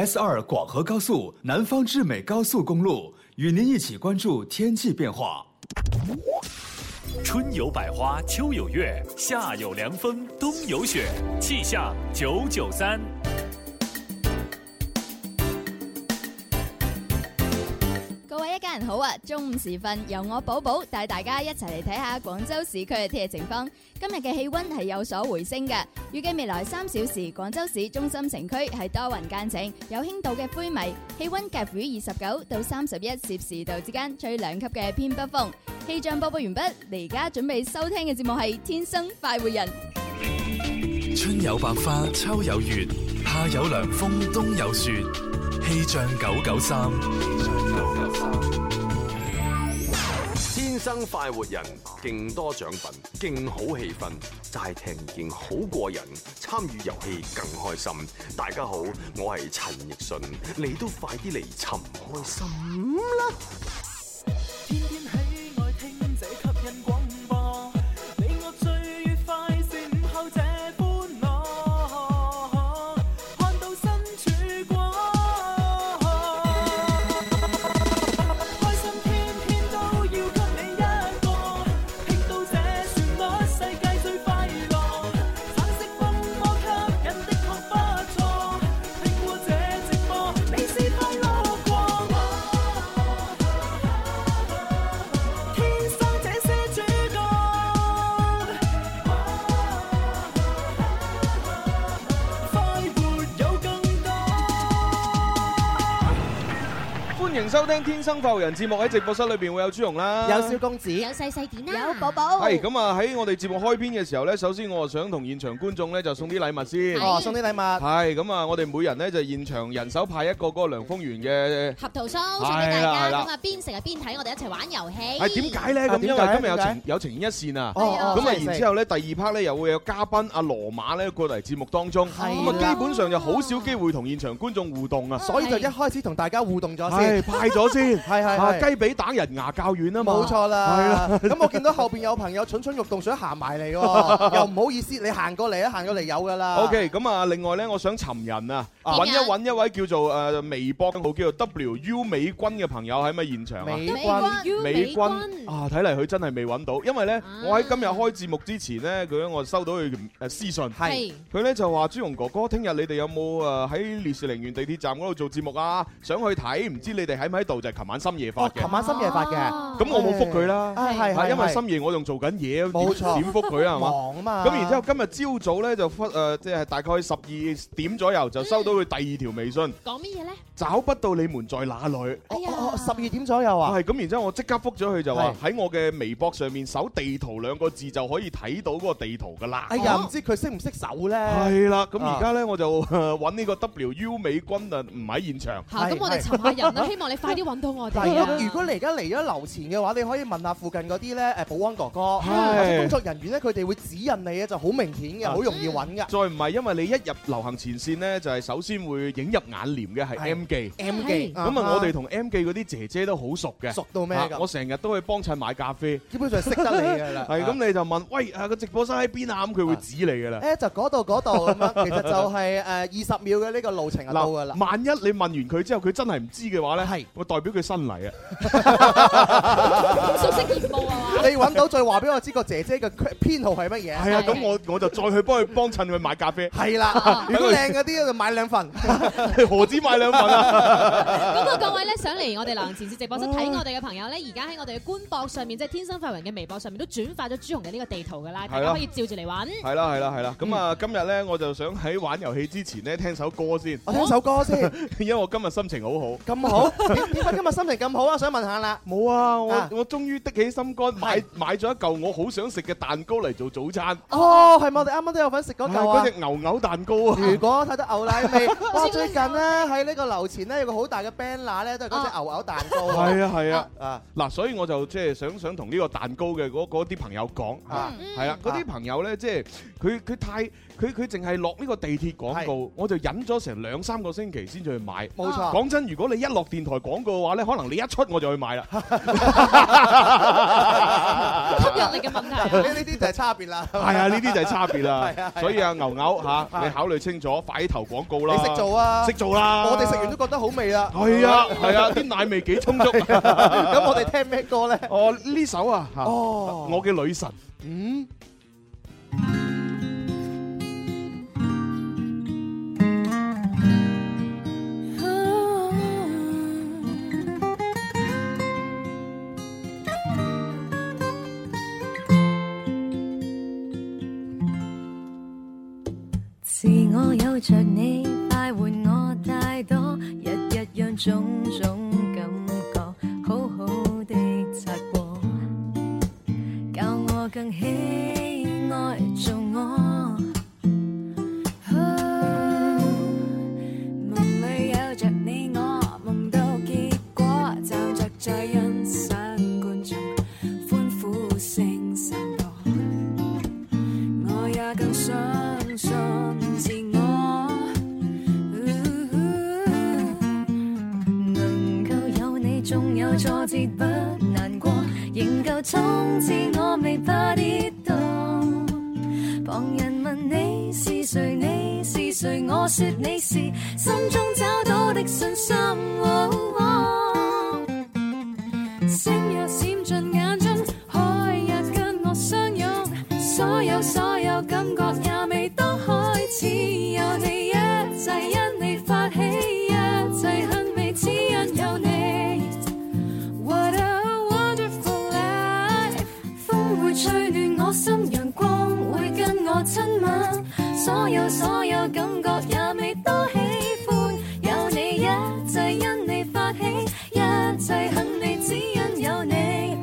S2广河高速南方至美高速公路，与您一起关注天气变化。 春有百花，秋有月，夏有凉风，冬有雪。气象993。 各位一家人好啊！中午時分，由我寶寶帶大家一齊嚟睇下廣州市區嘅天氣情況。今日嘅氣溫係有所回升嘅，預計未來3小時，廣州市中心城區係多雲間晴，有輕度嘅灰霾，氣溫介乎於29到31攝氏度之間，吹2級嘅偏北風。氣象播報完畢，你而家準備收聽嘅節目係《天生快活人》。 春有百花，秋有月，夏有涼風，冬有雪。氣象993。 天生快活人，勁多獎品，勁好氣氛，齋聽已經好過癮，參與遊戲更開心。大家好，我係陳奕迅，你都快啲嚟尋開心啦！ 天天喜愛聽這吸引廣播，你我最愉快是午後這歡樂，看到身曙光，開心天天都要給你一個，聽到這旋律世界最快樂，橙色風波吸引的確不錯，聽過這直播你是快樂過。 歡迎收聽《天生快活人》節目，喺直播室裏邊會有朱紅啦， 有小公子， 有細細點啦，有寶寶。 係咁啊！喺我哋節目開篇嘅時候咧，首先我想同現場觀眾咧就送啲禮物先。 哦，送啲禮物。 係咁啊！我哋每人咧就現場人手派一個嗰個涼風園嘅合桃酥送俾大家。咁啊，邊食啊邊睇，我哋一齊玩遊戲。 係點解咧？咁因為今日有情牽一線啊！咁啊，然之後咧第2 part 咧又會有嘉賓阿羅馬咧過嚟節目當中。咁啊，基本上就好少機會同現場觀眾互動啊， 所以就一開始同大家互動咗先， 派咗先。係雞髀打人牙較軟啊嘛， 冇錯啦。 係啦， 咁我見到後邊有朋友蠢蠢欲動想行埋嚟喎，又唔好意思，你行過嚟啊，行過嚟有噶啦。 OK， 咁啊，另外咧，我想尋人啊，揾一位叫做微博號叫做 WU 美君嘅朋友喺咪現場啊？美君啊，睇嚟佢真係未揾到，因為咧，我喺今日開節目之前咧，我收到佢私信，係佢咧就話朱紅哥哥，聽日你哋有冇喺烈士陵園地鐵站嗰度做節目啊？想去睇，唔知你哋喺唔喺度？就係琴晚深夜發嘅， 琴晚深夜發嘅， 咁我冇覆佢啦，係因為深夜我仲做緊嘢， 冇錯， 點覆佢啊？ 忙啊嘛。 咁然之後今日朝早咧就即係大概12點左右就收到佢第2條微信， 講乜嘢咧？ 找不到你們在哪裏 ？12點左右啊？ 係咁，然之後我即刻覆咗佢就話喺我嘅微博上面搜地圖2個字就可以睇到嗰個地圖噶啦。 哎呀，唔知佢識唔識搜咧？ 係啦，咁而家咧我就揾呢個 WU 美君啊，唔喺現場。 咁我哋尋下人啦，希望你快啲揾到我哋。 如果你而家嚟咗樓前嘅話，你可以問下附近嗰啲咧保安哥哥或者工作人員咧，佢哋會指引你嘅，就好明顯嘅，好容易揾嘅。 再唔係因為你一入流行前線咧，就係首先會映入眼簾嘅係 M 記。咁啊，我哋同 M 記嗰啲姐姐都好熟嘅。熟到咩㗎？我成日都去幫襯買咖啡， 基本上識得你㗎啦。 係咁，你就問喂個直播室喺邊啊？咁佢會指你㗎啦。 就嗰度咁樣，其實就係20秒嘅呢個路程就到㗎啦。 萬一你問完佢之後，佢真係唔知嘅話咧，我代表佢新嚟啊。 熟悉業務啊嘛！ 你揾到再話俾我知個姐姐嘅編號係乜嘢？ 係啊，咁我就再去幫襯佢買咖啡。 係啦，如果靚嗰啲就買2份， 何止買2份啊？ 咁啊，各位咧想嚟我哋流行前線直播室睇我哋嘅朋友咧，而家喺我哋嘅官博上面，即係天生快活人嘅微博上面都轉發咗朱紅嘅呢個地圖㗎啦，大家可以照住嚟揾。係啦。咁啊，今日咧我就想喺玩遊戲之前咧聽首歌先。 我聽首歌先， 因為我今日心情好好。 咁好？點解今日心情咁好啊？想問下啦。 冇啊，我終於的起心肝買咗一嚿我好想食嘅蛋糕嚟做早餐。 哦，係咪我哋啱啱都有份食嗰嚿啊？ 嗰隻牛蛋糕啊！ 如果睇到牛奶味，哇！最近咧喺呢個樓前咧有個好大嘅 banner 咧，都係嗰隻牛搞蛋糕。 係啊，嗱，所以我就即係想同呢個蛋糕嘅嗰啲朋友講，係啊，嗰啲朋友咧，即係佢淨係落呢個地鐵廣告，我就忍咗成2-3個星期先至去買。 冇錯， 講真，如果你一落電台廣告嘅話咧，可能你一出我就去買啦。 吸引力嘅問題， 呢啲就係差別啦。 係啊，呢啲就係差別啦。所以啊，牛牛嚇，你考慮清楚，快啲投廣告啦。 你識做啊？ 識做啦。 我哋食完都覺得好味啦。 係啊，啲奶味幾充足。 咁我哋聽咩歌咧？ 呢首啊，我嘅女神。 自我有着你，快活我太多，日日讓種種感覺好好地擦過，教我更喜愛做我。夢裏有着你，我夢到結果，就着在欣賞觀眾歡呼聲散播，我也更相信自我，能夠有你，縱有挫折不難過，仍舊衝刺我未怕跌倒。旁人問你是誰，你是誰，我說你是心中找到的信心。星若閃進眼中，海也跟我相擁，所有感覺也未當開始，有你一切因你發起，一切很美只因有你。What a wonderful life， 風會吹亂我心，陽光會跟我親吻，所有感覺也未多喜歡，有你一切因你發起，一切很美只因有你。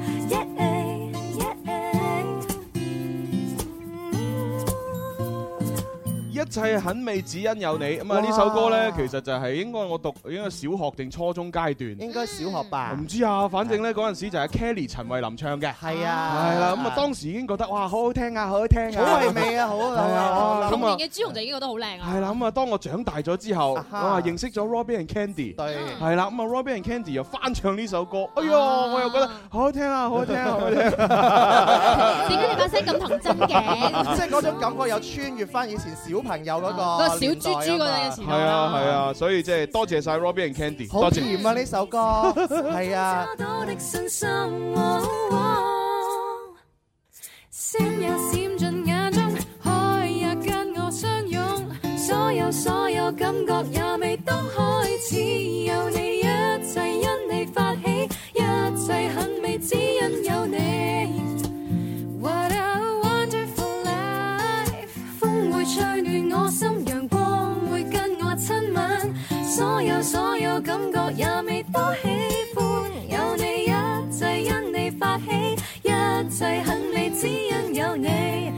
一切很美只因有你。咁啊，呢首歌咧，其實就係應該我讀應該小學定初中階段， 應該小學吧？ 唔知啊，反正咧嗰陣時就係 Kelly 陳慧琳唱嘅。 係啊， 係啦。咁啊，當時已經覺得哇，好好聽啊，好好聽啊， 好唯美啊，好啊。 童年嘅朱紅就已經覺得好靚啊。 係啦。咁啊，當我長大咗之後，哇，認識咗 Robin and Candy。 對。 係啦。咁啊，Robin and Candy 又翻唱呢首歌，哎呀，我又覺得好好聽啊，好好聽啊，好好聽。 點解你把聲咁童真嘅？ 即係嗰種感覺又穿越翻以前小朋友嗰個小豬豬嗰陣嘅時候。 係啊，所以即係多謝晒 Robin and Candy， 好甜啊呢首歌，係啊。 星也閃進眼中，海也跟我相擁，所有感覺也未當開始，有你一切因你發起，一切很美只因有你。What a wonderful life， 風會吹亂我心，陽光會跟我親吻，所有感覺也未多喜歡，有你一切因你發起，一切很美只因有你。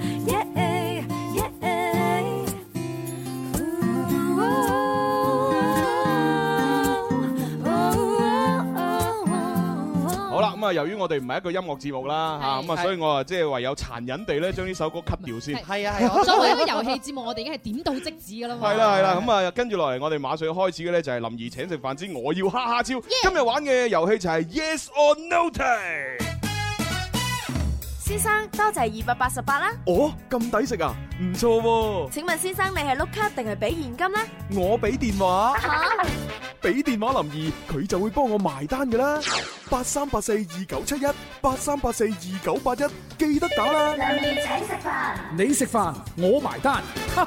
好啦，咁啊，由於我哋唔係一個音樂節目啦，嚇咁啊，所以我啊即係唯有殘忍地咧將呢首歌 cut 掉先。 係啊， 作為一個遊戲節目，我哋已經係點到即止噶啦嘛。 係啦，咁啊跟住落嚟，我哋馬上開始嘅咧就係林兒請食飯之我要哈哈超。今日玩嘅遊戲就係 Yes or No time。 先生，多謝288啦。 哦，咁抵食啊，唔錯喎。 請問先生，你係碌卡定係俾現金呢？ 我俾電話。俾電話林兒，佢就會幫我埋單㗎啦。83842971 83842981，記得打啦。 林兒請食飯， 你食飯，我埋單。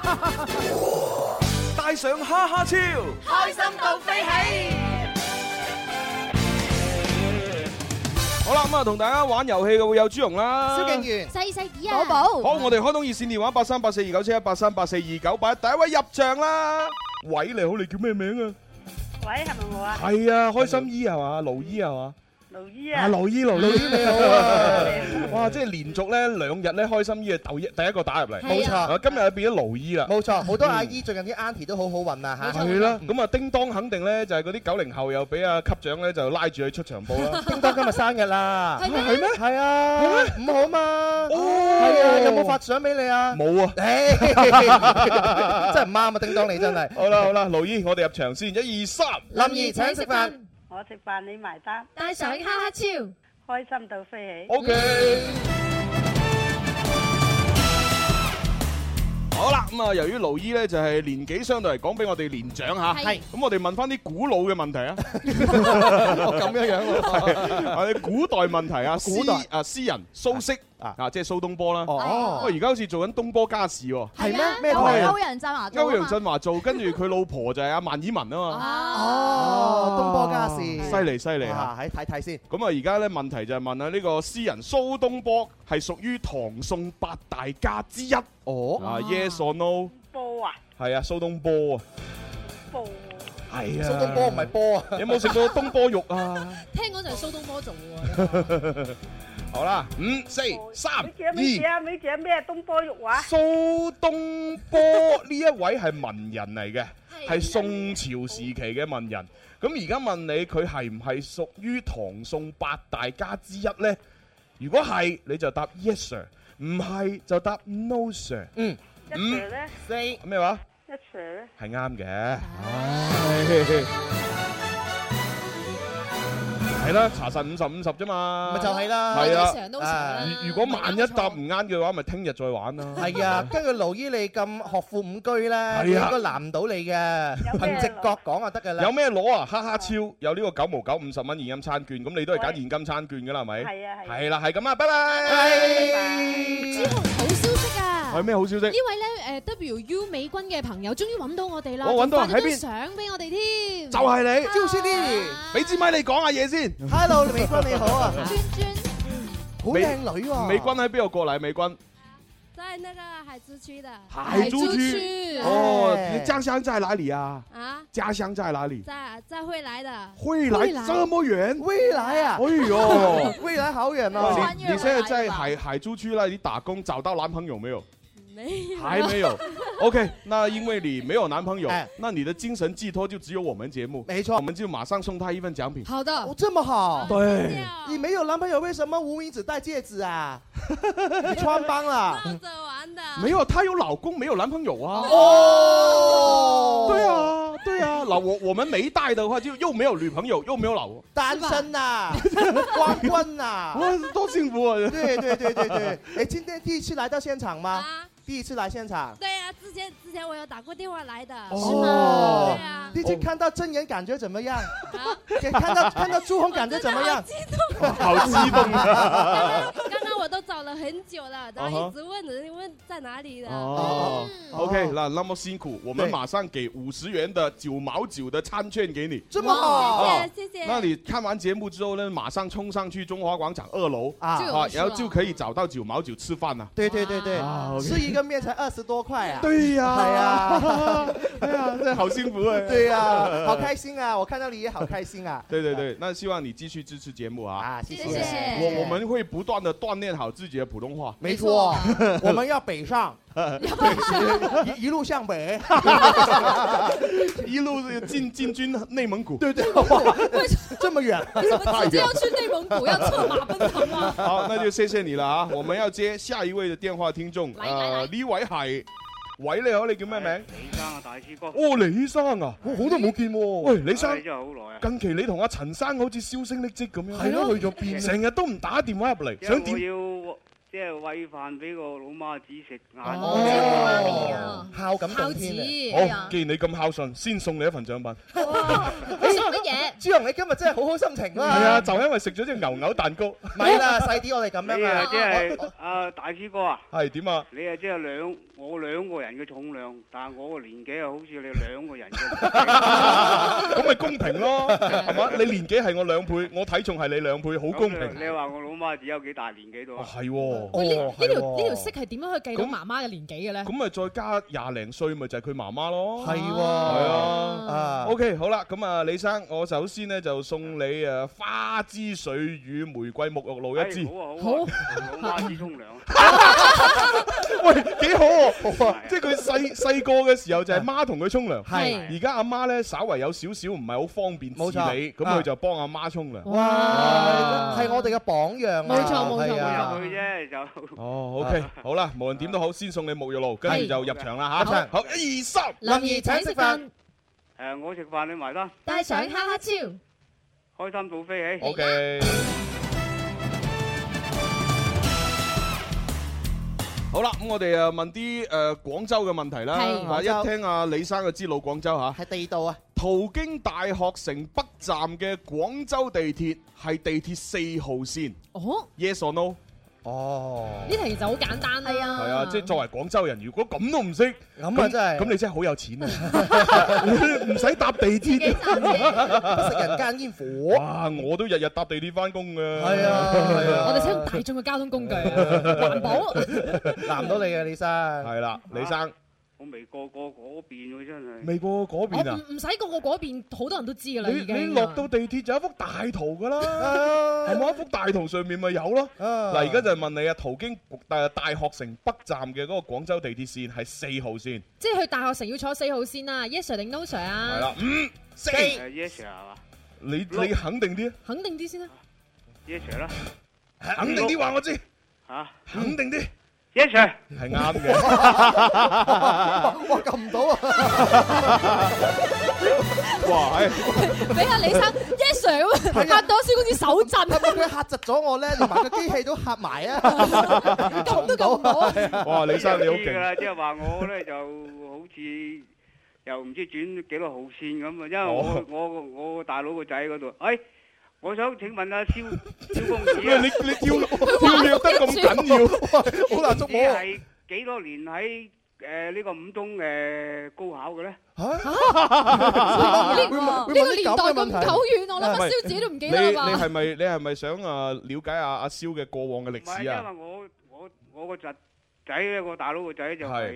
帶上哈哈超， 開心到飛起。 好啦，咁啊，同大家玩遊戲嘅會有朱紅啦， 蕭敬元、 細細啲啊，寶寶。 好，我哋開通熱線電話83842971 83842981，第一位入場啦。喂，你好，你叫咩名啊？ 喂，係咪我啊？ 係啊，開心姨係嘛，盧姨係嘛？ 盧姨啊， 盧姨你好啊！哇，即係連續咧2日咧開心姨嘅第一個打入嚟， 冇錯。 今日變咗盧姨啦， 冇錯。好多阿姨最近啲 auntie 都好好運啊嚇。 係啦，咁啊叮當肯定咧就係嗰啲90後又俾阿級長咧就拉住佢出場報啦。 叮當今日生日啦， 係咩？ 係啊，5號嘛。係啊，有冇發相俾你啊？ 冇啊， 真係唔啱啊！叮當你真係。 好啦，盧姨，我哋入場先，1、2、3， 林兒請食飯。 我食飯你埋單， 帶上哈哈超， 開心到飛起。 OK。好啦，咁啊，由於盧姨咧就係年紀相對嚟講比我哋年長嚇，係，咁我哋問翻啲古老嘅問題啊。 咁樣喎，係古代問題啊， 古代詩人蘇軾啊，即係蘇東坡啦。 哦， 而家好似做緊東坡家事喎。 係咩？咩台？歐陽震華做。 歐陽震華做，跟住佢老婆就係阿萬綺雯啊嘛。 哦，東坡家事。 犀利嚇！ 睇睇先。 咁啊，而家咧問題就係問下呢個詩人蘇東坡係屬於唐宋8大家之一。哦。啊 ，Yes or no？ 波啊。係啊，蘇東坡啊。 波。 係啊。 蘇東坡唔係波啊。 有冇食過東坡肉啊？ 聽講就係蘇東坡做嘅喎。 好啦，5、4、3、2。 你講咩東坡肉話？ 蘇東坡呢一位係文人嚟嘅，係宋朝時期嘅文人。咁而家問你，佢係唔係屬於唐宋8大家之一呢？如果係，你就答 Yes sir； 唔係就答 No sir。 一 Sir 咧 ？4咩話？ 一 Sir 咧？ 係啱嘅。係啦，查實50-50啫嘛， 咪就係啦。 係啊，如果萬一答唔啱嘅話，咪聽日再玩啦。 係啊，根據盧姨你咁學富五車咧，應該難唔到你嘅，憑直覺講就得㗎啦。 有咩攞啊？哈哈超有呢個9毛9 50蚊現金餐券，咁你都係揀現金餐券㗎啦，係咪？ 係啊係。 係啦，係咁啊，拜拜。 朱紅好消息啊！ 係咩好消息？ 呢位咧WU 美軍嘅朋友終於揾到我哋啦， 我揾到喺邊？ 相俾我哋添。 就係你， 趙師弟， 俾支咪你講下嘢先。 Hello， 美軍你好啊， 娟， 好靚女喎。 美軍喺邊度過嚟？美軍在那個海珠區的。 海珠區。哦，你家鄉在哪裡啊？啊？家鄉在哪裡？ 在惠來的。 惠來這麼遠？ 惠來啊！ 哎呦， 惠來好遠哦。 你現在在海珠區那裡打工，找到男朋友沒有？還沒有。OK， 那因為你沒有男朋友，那你的精神寄託就只有我們節目。 沒錯， 我們就馬上送他一份獎品。 好的， 這麼好。 對， 你沒有男朋友，為什麼無名指戴戒指啊？你穿幫了。 鬧着玩的。 沒有，她有老公，沒有男朋友啊。 哦， 對啊，對啊。那我們沒戴的話，就又沒有女朋友，又沒有老公， 單身啊，光棍啊， 多幸福啊！ 對對對對對。哎，今天第一次來到現場嗎？第一次來現場。 對啊，之前我有打過電話來的。 是嗎？ 對啊。 第一次看到真人感覺怎麼樣？看到朱紅感覺怎麼樣？ 好激動啊！ 剛剛我都找了很久了，然後一直問在哪裡的。 OK， 那麼辛苦，我們馬上給50元的9毛9的餐券給你。 這麼好， 謝謝。 那你看完節目之後呢，馬上衝上去中華廣場2樓然後就可以找到9毛9吃飯啦。 對對對對，吃一個麵才20多塊啊！ 對呀， 係啊， 哎呀，真係好幸福啊！ 對呀，好開心啊！我看到你也好開心啊！ 對對對，那希望你繼續支持節目啊！ 啊，謝謝。 我們會不斷地鍛鍊好自己的普通話。 沒錯，我們要北上，一路向北， 一路進軍內蒙古。 對對，哇，這麼遠， 直接要去內蒙古，要策馬奔騰啊！ 好，那就謝謝你了啊！我們要接下一位的電話聽眾，呢位係。喂，你好，你叫咩名？ 李生啊，大師哥。 哦，李生啊，我好耐冇見喎。喂，李生， 真係好耐啊。 近期你同阿陳生好似銷聲匿跡咁樣。 係咯，去咗邊？ 成日都唔打電話入嚟，想點？ 我要即係餵飯俾個老媽子食晏。 哦，孝感動天啊！好，既然你咁孝順，先送你一份獎品。 你送乜嘢？ 朱紅，你今日真係好好心情啦。 係啊，就因為食咗隻牛蛋糕。 咪啦，細啲我哋咁樣啊。 即係阿大師哥啊。 係點啊？ 你係即係我兩個人嘅重量，但係我個年紀又好似你2個人嘅。 咁咪公平咯，係嘛？你年紀係我2倍，我體重係你2倍，好公平。 你話我老媽子有幾大年紀度啊？ 係喎。 喂，呢條式係點樣去計到媽媽嘅年紀嘅咧？ 咁咪再加廿零歲，咪就係佢媽媽咯。 係喎， 係啊。OK， 好啦，咁啊，李生，我首先咧就送你誒花枝水乳玫瑰沐浴露一支。 好，用花枝沖涼。 喂，幾好喎！即係佢細個嘅時候就係媽同佢沖涼， 係而家阿媽咧稍為有少少唔係好方便自理，咁佢就幫阿媽沖涼。 哇，係我哋嘅榜樣。 冇錯冇錯冇錯。 佢啫就。 哦，OK，好啦，無論點都好，先送你沐浴露，跟住就入場啦嚇。好，1、2、3， 林兒請食飯。 我食飯你埋單。 帶上哈哈超， 開心到飛起。 OK。好啦，咁我哋問啲廣州嘅問題啦。一聽阿李生就知老廣州嚇。 係地道啊！ 途經大學城北站嘅廣州地鐵係地鐵4號線。 哦 ？Yes or no？ 哦， 呢題就好簡單啦。 係啊，即係作為廣州人，如果咁都唔識， 咁啊真係， 咁你真係好有錢啊！唔使搭地鐵， 食人間煙火。 哇！我都日日搭地鐵翻工㗎。 係啊，係啊。 我哋使用大眾嘅交通工具，環保。 難唔到你嘅李生。 係啦，李生。 我未過嗰邊喎，真係。 未過嗰邊啊？ 唔使過嗰邊，好多人都知㗎啦。 你落到地鐵就有一幅大圖㗎啦，係冇一幅大圖上面咪有咯。嗱，而家就問你啊，途經大學城北站嘅嗰個廣州地鐵線係4號線。 即係去大學城要坐4號線啊 ？Yes sir 定 No sir 啊？ 係啦，5、4。 Yes sir 係嘛？ 你肯定啲？ 肯定啲先啦。 Yes sir 啦。 肯定啲話我知。 嚇？ 肯定啲。 Yes sir， 係啱嘅。 哇，撳唔到啊！ 哇， 俾阿李生 Yes sir 嚇到蕭公子手震。 佢嚇窒咗我咧，連埋個機器都嚇埋啊！ 撳都撳唔到。 哇，李生你好勁啦！即係話我咧就好似又唔知轉幾多號線咁啊，因為我大佬個仔嗰度，我想請問阿蕭公子啊， 你跳躍得咁緊要，好難捉摸。 你係幾多年喺呢個五中高考嘅咧？ 呢個年代咁久遠，我諗阿蕭自己都唔記得啦嘛。 你係咪想了解阿蕭嘅過往嘅歷史啊？ 唔係，因為我個仔咧，我大佬個仔就係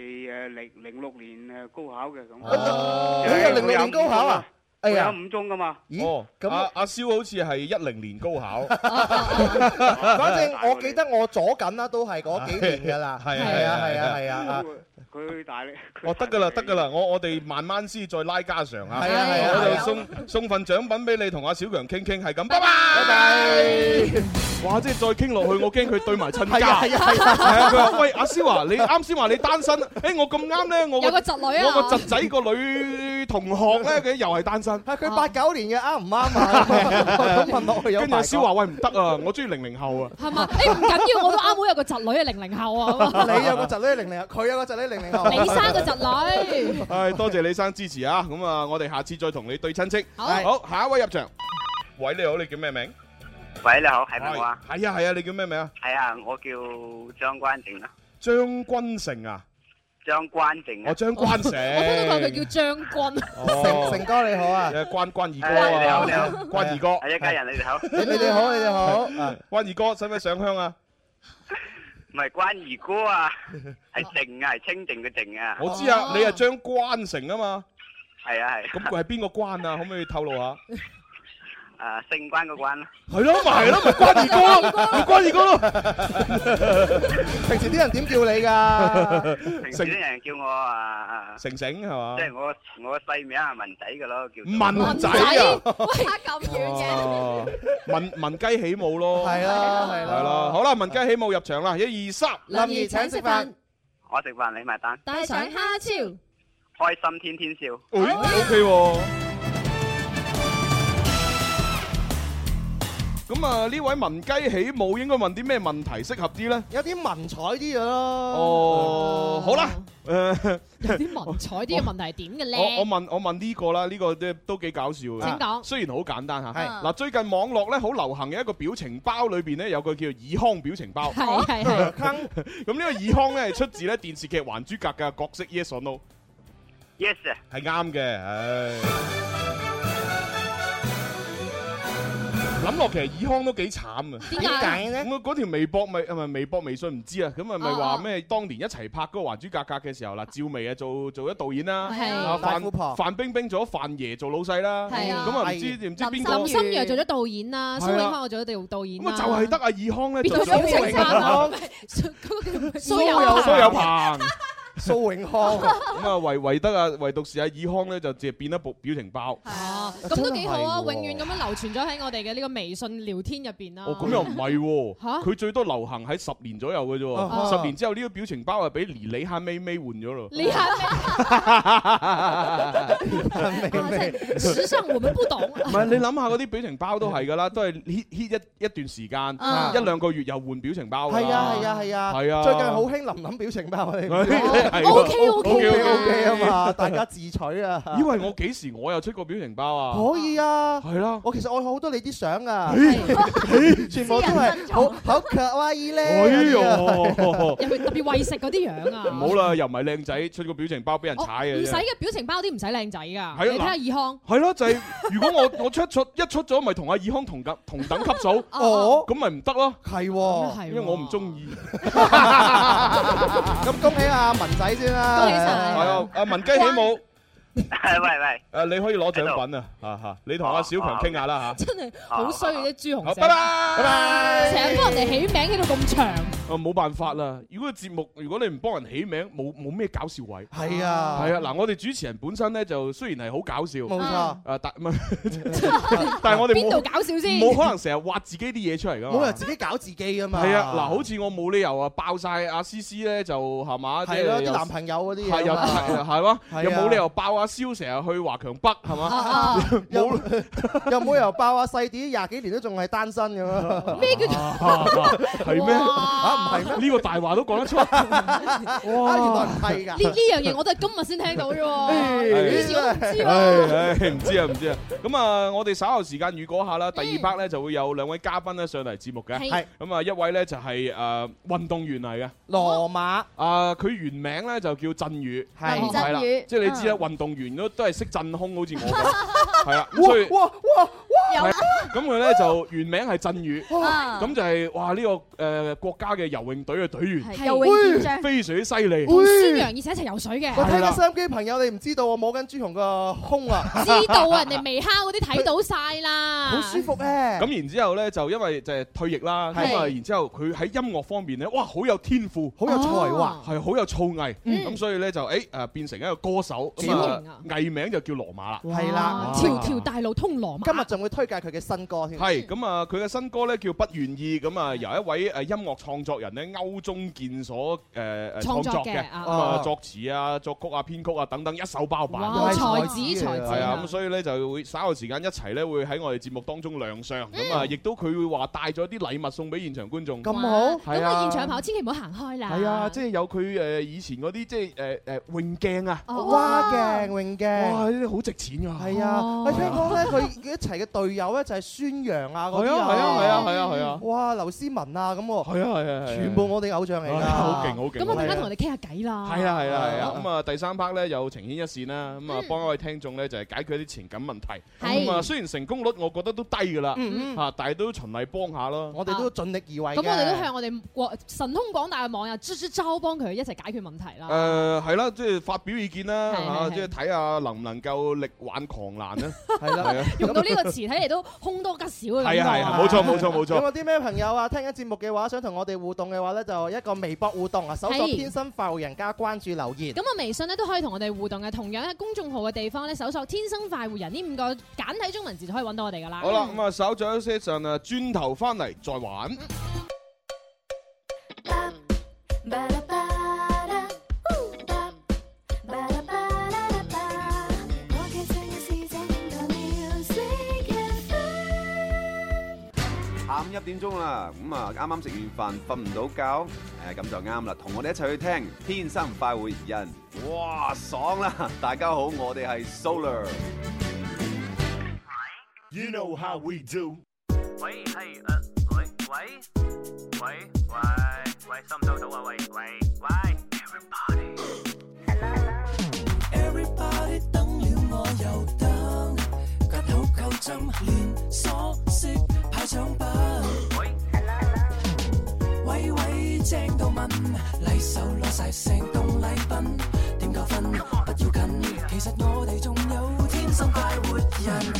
06年高考嘅咁。 哦，你係06年高考啊？ 我有5中噶嘛？ 哦，咁阿蕭好似係10年高考， 反正我記得我左緊啦，都係嗰幾年噶啦。係啊。 佢大力。 哦，得噶啦，我哋慢慢先再拉家常啊。 係啊， 我哋送份獎品俾你同阿小強傾，係咁，拜拜。哇！即係再傾落去，我驚佢對埋親家。係啊！佢話：喂，阿蕭啊，你啱先話你單身，我咁啱咧，我有個侄女啊， 我個侄仔個女同學咧，佢又係單身。 係佢89年嘅，啱唔啱啊？咁問落去有。 跟住阿蕭話：喂，唔得啊，我中意00後啊。 係嘛？唔緊要，我都啱好有個侄女係00後啊。 你有個侄女係00後，佢有個侄女00後。 李生個侄女。 係多謝李生支持啊！咁啊，我哋下次再同你對親戚。 好， 下一位入場。喂，你好，你叫咩名？ 喂，你好，係咪我啊？ 係啊，你叫咩名啊？ 係啊，我叫張關正啊。 張君成啊？ 張關正。 哦，張關成。 我聽到佢叫將軍。 成哥你好啊！ 關二哥啊！ 你好， 關二哥。 係一家人，你哋好。 你哋好，你哋好。 關二哥，使唔使上香啊？ 唔係關二哥啊，係靜啊，係清靜嘅靜啊。 我知啊，你係張關成啊嘛。 係啊係。 咁佢係邊個關啊？可唔可以透露下？ 姓關個關咯。 係咯，咪關二哥咯，咪關二哥咯。 平時啲人點叫你㗎？ 平時啲人叫我成成係嘛？ 即係我細名係文仔㗎咯，叫文仔啊！ 喂，差咁遠嘅。 文雞起舞咯。 係啦。 好啦，文雞起舞入場啦，1、2、3。 林兒請食飯。 我食飯你埋單。 帶上蝦超。 開心天天笑。 OK 喎。咁啊，呢位文雞起舞應該問啲咩問題適合啲咧？ 有啲文采啲嘅咯。 哦，好啦， 有啲文采啲嘅問題係點嘅咧？ 我問呢個啦，呢個都幾搞笑嘅。 請講。 雖然好簡單嚇。嗱，最近網絡咧好流行嘅一個表情包裏邊咧有個叫爾康表情包。 係。 咁呢個爾康咧係出自咧電視劇《還珠格格》嘅角色 Yes or No？Yes 啊。 係啱嘅，唉。 諗落其實爾康都幾慘啊！ 點解咧？ 咁嗰條微博咪微博微信唔知啊，咁咪話咩？當年一齊拍嗰個《還珠格格》嘅時候啦，趙薇啊做咗導演啦，范冰冰做咗范爺做老細啦，咁啊唔知邊個？ 林心如做咗導演啦，蘇永康我做咗導演。 咁啊就係得阿爾康咧做咗表情包，蘇有朋。 蘇永康咁啊，唯獨是阿爾康咧，就只係變一部表情包。 咁都幾好啊！永遠咁樣流傳咗喺我哋嘅呢個微信聊天入邊啦。 哦，咁又唔係喎，佢最多流行喺10年左右嘅啫喎。10年之後呢個表情包係俾李夏咪咪換咗咯。 李夏咪，時尚我們不懂。 唔係你諗下嗰啲表情包都係㗎啦，都係 hit 一段時間，1-2個月又換表情包。 係啊！最近好興林林表情包你。OK 啊嘛，大家自取啊！ 以為我幾時我又出過表情包啊？ 可以啊， 係啦， 我其實我好多你啲相啊，全部都係好可愛咧。 哎呦， 特別為食嗰啲樣啊！ 唔好啦，又唔係靚仔，出個表情包俾人踩嘅。 唔使嘅表情包啲唔使靚仔㗎，你睇下爾康。 係咯，就係如果我一出咗，咪同阿爾康同等級數，咁咪唔得咯。 係， 因為我唔中意。 咁恭喜阿文仔先啦！ 恭喜晒！ 係啊，阿文雞起舞。 喂， 你可以攞獎品啊！你同阿小強傾下啦嚇。 真係好衰嘅啲朱紅。 拜拜。 成日幫人哋起名起到咁長。 冇辦法啦！如果節目如果你唔幫人起名，冇咩搞笑位。 係啊。 嗱，我哋主持人本身咧就雖然係好搞笑， 冇錯。 但係我哋邊度搞笑先？ 冇可能成日挖自己啲嘢出嚟㗎嘛。 冇人自己搞自己㗎嘛。 係啊，嗱，好似我冇理由啊爆晒阿思思咧，就係嘛？ 係咯，啲男朋友嗰啲嘢。 係嘛？又冇理由爆阿蕭成日去華強北係嘛？ 又冇理由爆阿細啲20幾年都仲係單身咁啊？ 咩叫係咩？唔係咩？呢個大話都講得出。 哇！原來唔係㗎。 呢樣嘢我都係今日先聽到啫喎。以前我唔知喎。 唔知啊。咁啊，我哋稍後時間預告下啦。第2 part 咧就會有2位嘉賓咧上嚟節目嘅。係。咁啊，一位咧就係運動員嚟嘅羅馬。 佢原名咧就叫振宇。 係啦。 即係你知啦，運動員都係識震空，好似我咁。係啊。所以咁佢咧就原名係振宇。咁就係哇呢個國家嘅游泳隊嘅隊員。 游泳健將。 非常之犀利。 宣揚而且一齊游水嘅。 我睇緊收音機朋友，你唔知道我摸緊朱紅個胸啊！ 知道啊，人哋微蝦嗰啲睇到晒啦。 好舒服咧。 咁然之後咧，就因為就係退役啦，咁啊，然之後佢喺音樂方面咧，哇，好有天賦， 好有才華， 係好有造詣。咁所以咧就變成一個歌手。藝名就叫羅馬啦。 係啦， 條條大路通羅馬。 今日仲會推介佢嘅新歌添。 係咁啊，佢嘅新歌咧叫不願意，咁啊由一位音樂創作人咧歐中健所創作嘅，咁啊作詞啊、作曲啊、編曲啊等等一手包辦。 才子係啊，咁所以咧就會稍後時間一齊咧會喺我哋節目當中亮相。咁啊，亦都佢會話帶咗啲禮物送俾現場觀眾。 咁好。 咁啊，現場朋友千祈唔好行開啦。 係啊，即係有佢以前嗰啲即係泳鏡啊， 蛙鏡、泳鏡。 哇！呢啲好值錢㗎。 係啊，我聽講咧，佢一齊嘅隊友咧就係孫楊啊嗰啲啊。 係啊。 哇，劉詩雯啊咁喎。 係啊。 全部我哋偶像嚟㗎。 好勁。 咁我陣間同我哋傾下偈啦。 係啊。咁啊，第3 part 咧有情牽一線啦，咁啊幫一位聽眾咧就係解決一啲情感問題。咁啊，雖然成功率我覺得都低㗎啦，但係都循例幫下咯。 我哋都盡力而為。 咁我哋都向我哋神通廣大嘅網友支招幫佢一齊解決問題啦。 係啦，即係發表意見啦，即係睇下能唔能夠力挽狂瀾啦。係啦。 用到呢個詞睇嚟都凶多吉少嘅感覺。 係啊，冇錯。 有冇啲咩朋友啊？聽緊節目嘅話，想同我哋互動嘅話咧，就一個微博互動啊，搜索天生快活人加關注留言。 咁啊，微信咧都可以同我哋互動嘅，同樣喺公眾號嘅地方咧，搜索天生快活人呢5個簡體中文字就可以揾到我哋噶啦。 好啦，咁啊，稍咗一些陣啊，轉頭翻嚟再玩。 下午1點鐘啦，咁啊啱啱食完飯瞓唔到覺，咁就啱啦，同我哋一齊去聽《天生快活人》，哇爽啦！大家好，我哋係 Solar。 You know how we do。 喂，係喂，收唔收到啊？喂。 Everybody 等了我又等，吉好夠針連鎖式。 正到問，禮手攞晒成棟禮品，點夠分不要緊，其實我哋仲有天生快活人。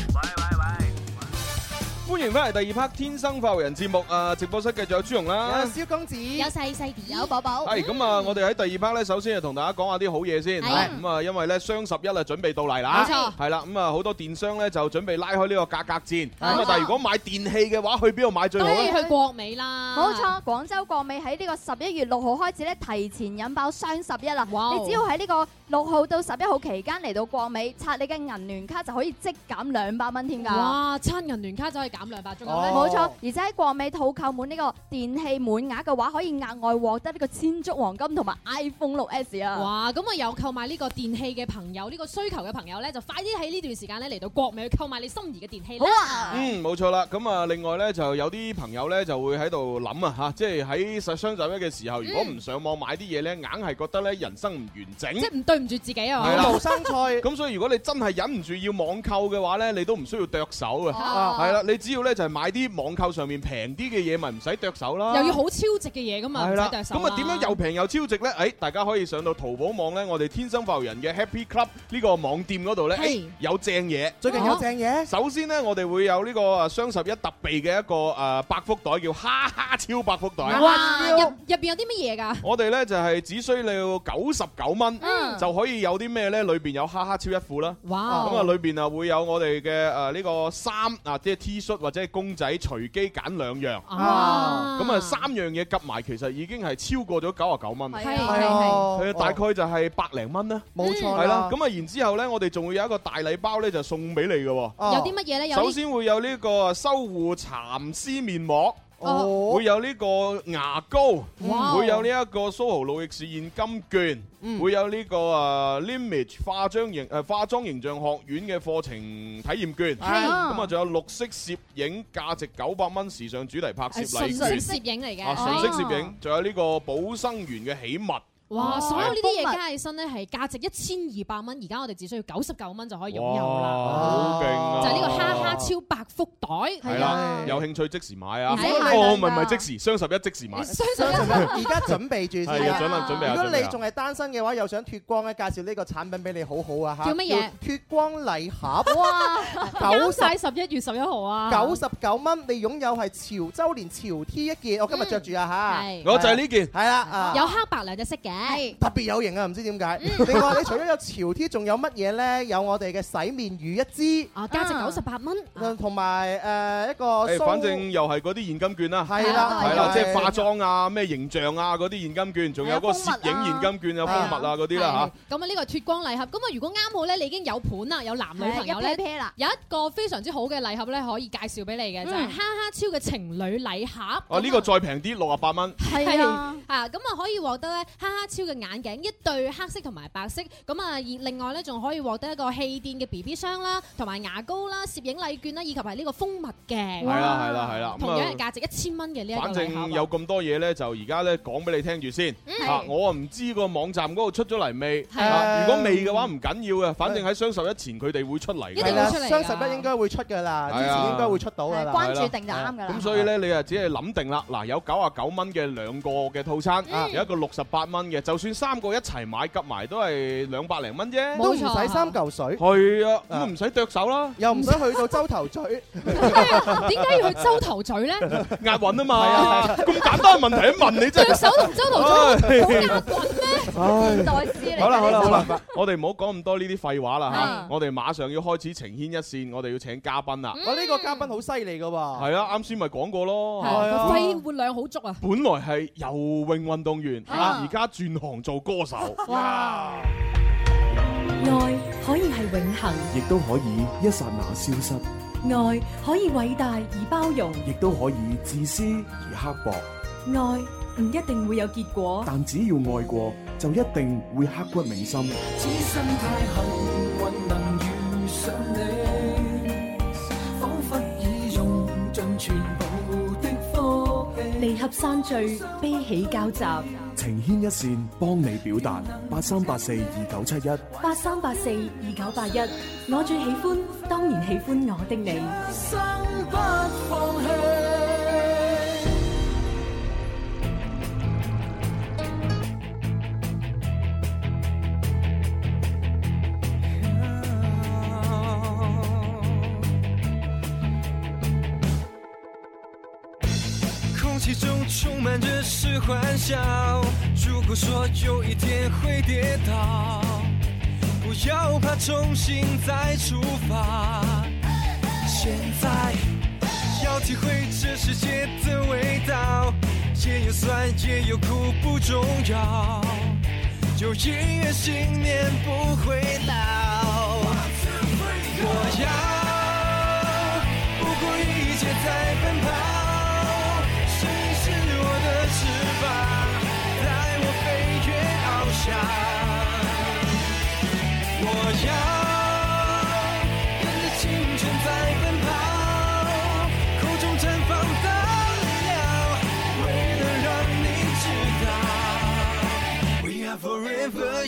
歡迎翻嚟第二 part《天生快活人》節目直播室繼續有朱紅啦， 有蕭公子， 有細細啲， 有寶寶。 係咁啊！我哋喺第二 part 咧，首先就同大家講下啲好嘢先。咁啊，因為咧雙十一啊準備到嚟啦， 冇錯。 係啦，咁啊好多電商咧就準備拉開呢個價格戰。咁啊，但係如果買電器嘅話，去邊度買最好咧？ 當然去國美啦。 冇錯，廣州國美喺呢個11月6號開始咧，提前引爆雙11啦。你只要喺呢個6號到11號期間嚟到國美，刷你嘅銀聯卡就可以即減200蚊添㗎。 哇！刷銀聯卡就可以減200，仲有咧？ 冇錯，而且喺國美套購滿呢個電器滿額嘅話，可以額外獲得呢個千足黃金同埋 iPhone 6S 啊！ 哇！咁啊有購買呢個電器嘅朋友，呢個需求嘅朋友咧，就快啲喺呢段時間咧嚟到國美去購買你心儀嘅電器啦！ 好啊！ 冇錯啦。咁啊，另外咧就有啲朋友咧就會喺度諗啊嚇，即係喺雙十一嘅時候，如果唔上網買啲嘢咧，硬係覺得咧人生唔完整， 即係唔對唔住自己啊！ 無生菜。 咁所以如果你真係忍唔住要網購嘅話咧，你都唔需要剁手嘅。係啦，你只要咧就係買啲網購上面平啲嘅嘢，咪唔使剁手啦。 又要好超值嘅嘢㗎嘛，唔使剁手。 咁啊點樣又平又超值咧？大家可以上到淘寶網咧，我哋天生快活人嘅 Happy Club 呢個網店嗰度咧，有正嘢。 最近有正嘢。 首先咧，我哋會有呢個雙十一特備嘅一個百福袋，叫哈哈超百福袋。 哇！入邊有啲乜嘢㗎？ 我哋咧就係只需要99蚊，就可以有啲咩咧？裏邊有哈哈超一褲啦。 哇！ 咁啊，裏邊啊會有我哋嘅呢個衫啊，即係 T 恤或者係公仔，隨機揀2樣。咁啊3樣嘢夾埋，其實已經係超過咗99蚊。係大概就係100零蚊啦。 冇錯。 係啦。咁啊，然之後咧，我哋仲會有一個大禮包咧，就送俾你嘅。有啲乜嘢咧？ 首先會有呢個修護蠶絲面膜。會有呢個牙膏，會有呢一個蘇豪路易士現金券，會有呢個Limage 化妝形象學院嘅課程體驗券，咁啊仲有綠色攝影價值900蚊時尚主題拍攝禮券， 純色攝影嚟嘅， 純色攝影，仲有呢個寶生園嘅喜物。 哇！所有呢啲嘢加起身咧係價值1200蚊，而家我哋只需要99蚊就可以擁有啦。 好勁啊！ 就係呢個哈哈超百福袋， 係啦，有興趣即時買啊！唔係即時，雙十一即時買。 雙十一而家準備住先啊！ 準備。 如果你仲係單身嘅話，又想脫光咧，介紹呢個產品俾你，好好啊嚇！ 叫乜嘢？ 脫光禮盒。 哇！啱晒11月11號啊 ！99蚊，你擁有係潮州連潮 T 一件，我今日着住啊嚇！ 我就係呢件。 係啦， 有黑白兩隻色嘅。 特別有型啊！唔知點解。另外，你除咗有潮 T，仲有乜嘢咧？有我哋嘅洗面乳一支， 價值98蚊。 同埋一個。 反正又係嗰啲現金券啦。 係啦， 即係化妝啊、咩形象啊嗰啲現金券，仲有嗰個攝影現金券、有蜂蜜啊嗰啲啦嚇。 咁啊，呢個脫光禮盒，咁啊，如果啱好咧，你已經有盤啦，有男女朋友咧，有一個非常之好嘅禮盒咧，可以介紹俾你嘅，就係哈哈超嘅情侶禮盒。 呢個再平啲，68蚊。 係啊，咁啊可以獲得咧哈哈超嘅眼鏡一對黑色同埋白色，咁啊另外咧仲可以獲得一個氣墊嘅 BB 霜啦，同埋牙膏啦、攝影禮券啦，以及係呢個蜂蜜嘅。 係啦， 同樣係價值1000蚊嘅呢一個禮盒。 反正有咁多嘢咧，就而家咧講俾你聽住先。我唔知個網站嗰度出咗嚟未？如果未嘅話唔緊要嘅，反正喺雙十一前佢哋會出嚟嘅。 一定會出嚟。 雙十一應該會出㗎啦，之前應該會出到㗎啦。 關注定就啱㗎啦。 咁所以咧，你啊只係諗定啦。嗱，有99蚊嘅2個嘅套餐，有一個68蚊嘅，就算3個一齊買夾埋都係200零蚊啫， 都唔使3嚿水。 係啊，咁唔使剁手啦， 又唔使去到洲頭咀。 點解要去洲頭咀咧？ 押韻啊嘛，咁簡單嘅問題一問你真係。剁手同洲頭咀好押韻咩？現代詩嚟。好啦，我哋唔好講咁多呢啲廢話啦嚇，我哋馬上要開始情牽一線，我哋要請嘉賓啦。 我呢個嘉賓好犀利㗎喎。 係啊，啱先咪講過咯。 肺活量好足啊！ 本來係游泳運動員，而家轉行做歌手。哇！ 愛可以係永恆， 亦都可以一剎那消失。 愛可以偉大而包容， 亦都可以自私而刻薄。 愛唔一定會有結果， 但只要愛過，就一定會刻骨銘心。 此生太幸運能遇上你，彷彿已用盡全部的福氣。 離合散聚，悲喜交集， 情牽一線，幫你表達。83842971 83842981，我最喜歡，當然喜歡我的你。 生不放棄。 空气中充满着是欢笑。如果说有一天会跌倒，不要怕，重新再出发。现在要体会这世界的味道，也有酸也有苦不重要，有音乐信念不会老。我要不顾一切在奔跑，声音是我的翅膀，带我飞越翱翔。我要跟着青春在奔跑，口中绽放的力量，为了让你知道 We are forever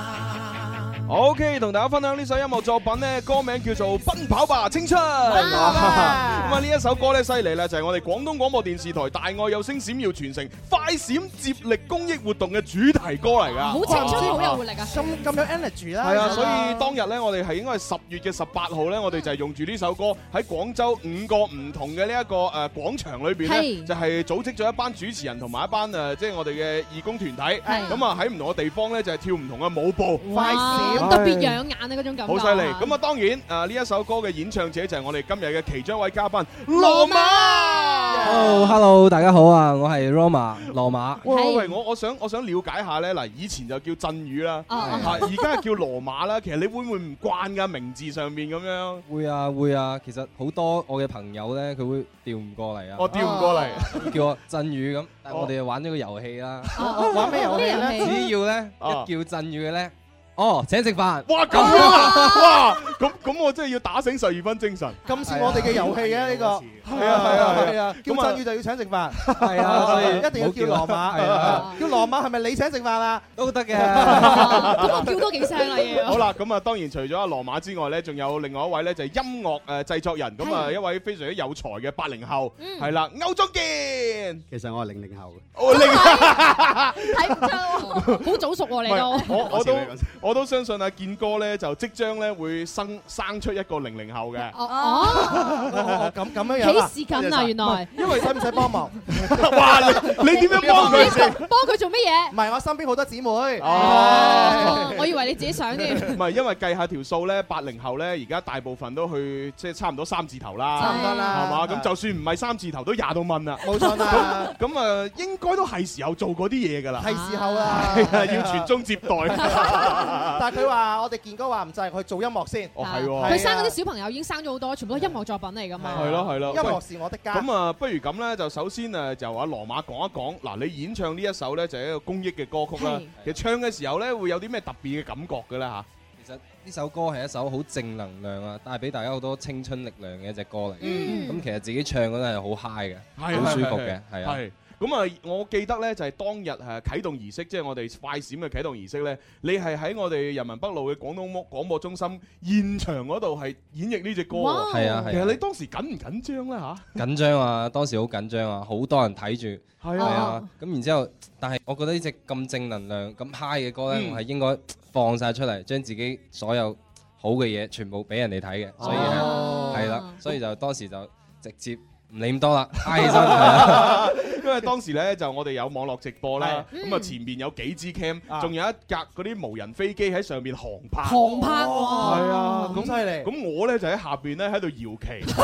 young。OK， 同大家分享呢首音樂作品呢，歌名叫做《奔跑吧青春》。咁啊，呢一首歌咧犀利啦，就係我哋廣東廣播電視台大愛有聲閃耀全城快閃接力公益活動嘅主題歌嚟㗎。 好青春，好有活力啊！ 咁有 energy 啦。 係啊，所以當日咧，我哋係應該係10月嘅18號咧，我哋就係用住呢首歌喺廣州5個唔同嘅呢一個廣場裏邊咧，就係組織咗一班主持人同埋一班即係我哋嘅義工團體。咁啊喺唔同嘅地方咧，就係跳唔同嘅舞步。快閃！ 特別養眼啊！嗰種感覺好犀利。咁啊，當然呢一首歌嘅演唱者就係我哋今日嘅其中一位嘉賓羅馬。 Hello， 大家好啊，我係 Roma 羅馬。 喂，我想了解下咧，嗱，以前就叫振宇啦，而家叫羅馬啦。其實你會唔會唔慣㗎名字上面咁樣？ 會啊，其實好多我嘅朋友咧，佢會調唔過嚟啊。 我調唔過嚟， 叫我振宇咁。但係我哋就玩咗個遊戲啦。 玩咩遊戲咧？ 只要咧一叫振宇嘅咧。請食飯！ 哇咁樣啊！哇咁我真係要打醒12分精神。 咁似我哋嘅遊戲啊呢個。係啊，叫振宇就要請食飯。係啊，所以一定要叫羅馬。叫羅馬係咪你請食飯啊？ 都得嘅。 咁我叫多幾聲啦要。 好啦，咁啊當然除咗阿羅馬之外咧，仲有另外一位咧就係音樂製作人，咁啊一位非常之有才嘅80後，係啦，歐中健。 其實我係00後嘅。 睇唔出，好早熟喎你都。 我都相信阿健哥咧就即將咧會生出一個00後嘅。 咁樣樣。 幾時緊啊？原來。 因為使唔使幫忙？ 哇！你點樣幫佢先？ 幫佢做乜嘢？ 唔係，我身邊好多姊妹。 我以為你自己想添。 唔係，因為計下條數咧，80後咧而家大部分都去即係差唔多3字頭啦。 差唔多啦。 係嘛？咁就算唔係3字頭，都20到蚊啦。 冇錯啦。 咁啊，應該都係時候做嗰啲嘢㗎啦。 係時候啦。 係啊，要傳宗接代。 但係佢話我哋健哥話唔制，去做音樂先。 係喎。 佢生嗰啲小朋友已經生咗好多，全部都係音樂作品嚟㗎嘛。 係咯。 音樂是我的家。 咁啊，不如咁咧，就首先就阿羅馬講一講。嗱，你演唱呢一首咧，就係一個公益嘅歌曲啦。其實唱嘅時候咧，會有啲咩特別嘅感覺嘅咧嚇？ 其實呢首歌係一首好正能量啊，帶俾大家好多青春力量嘅一隻歌嚟。咁其實自己唱嗰陣係好 high 嘅，好舒服嘅，係啊。 咁啊，我記得咧就係當日啟動儀式，即係我哋快閃嘅啟動儀式咧，你係喺我哋人民北路嘅廣東廣播中心現場嗰度係演繹呢隻歌。 係啊。 其實你當時緊唔緊張咧嚇？ 緊張啊！當時好緊張啊，好多人睇住。係啊。咁然之後，但係我覺得呢隻咁正能量、咁 high 嘅歌咧，我係應該放晒出嚟，將自己所有好嘅嘢全部俾人哋睇嘅。所以係啦，所以就當時就直接。唔理咁多啦，嗨起身。 因為當時咧就我哋有網絡直播啦，咁啊前面有幾支 cam， 仲有一架嗰啲無人飛機喺上面航拍。 航拍喎。 係啊， 咁犀利。 咁我咧就喺下邊咧喺度搖旗。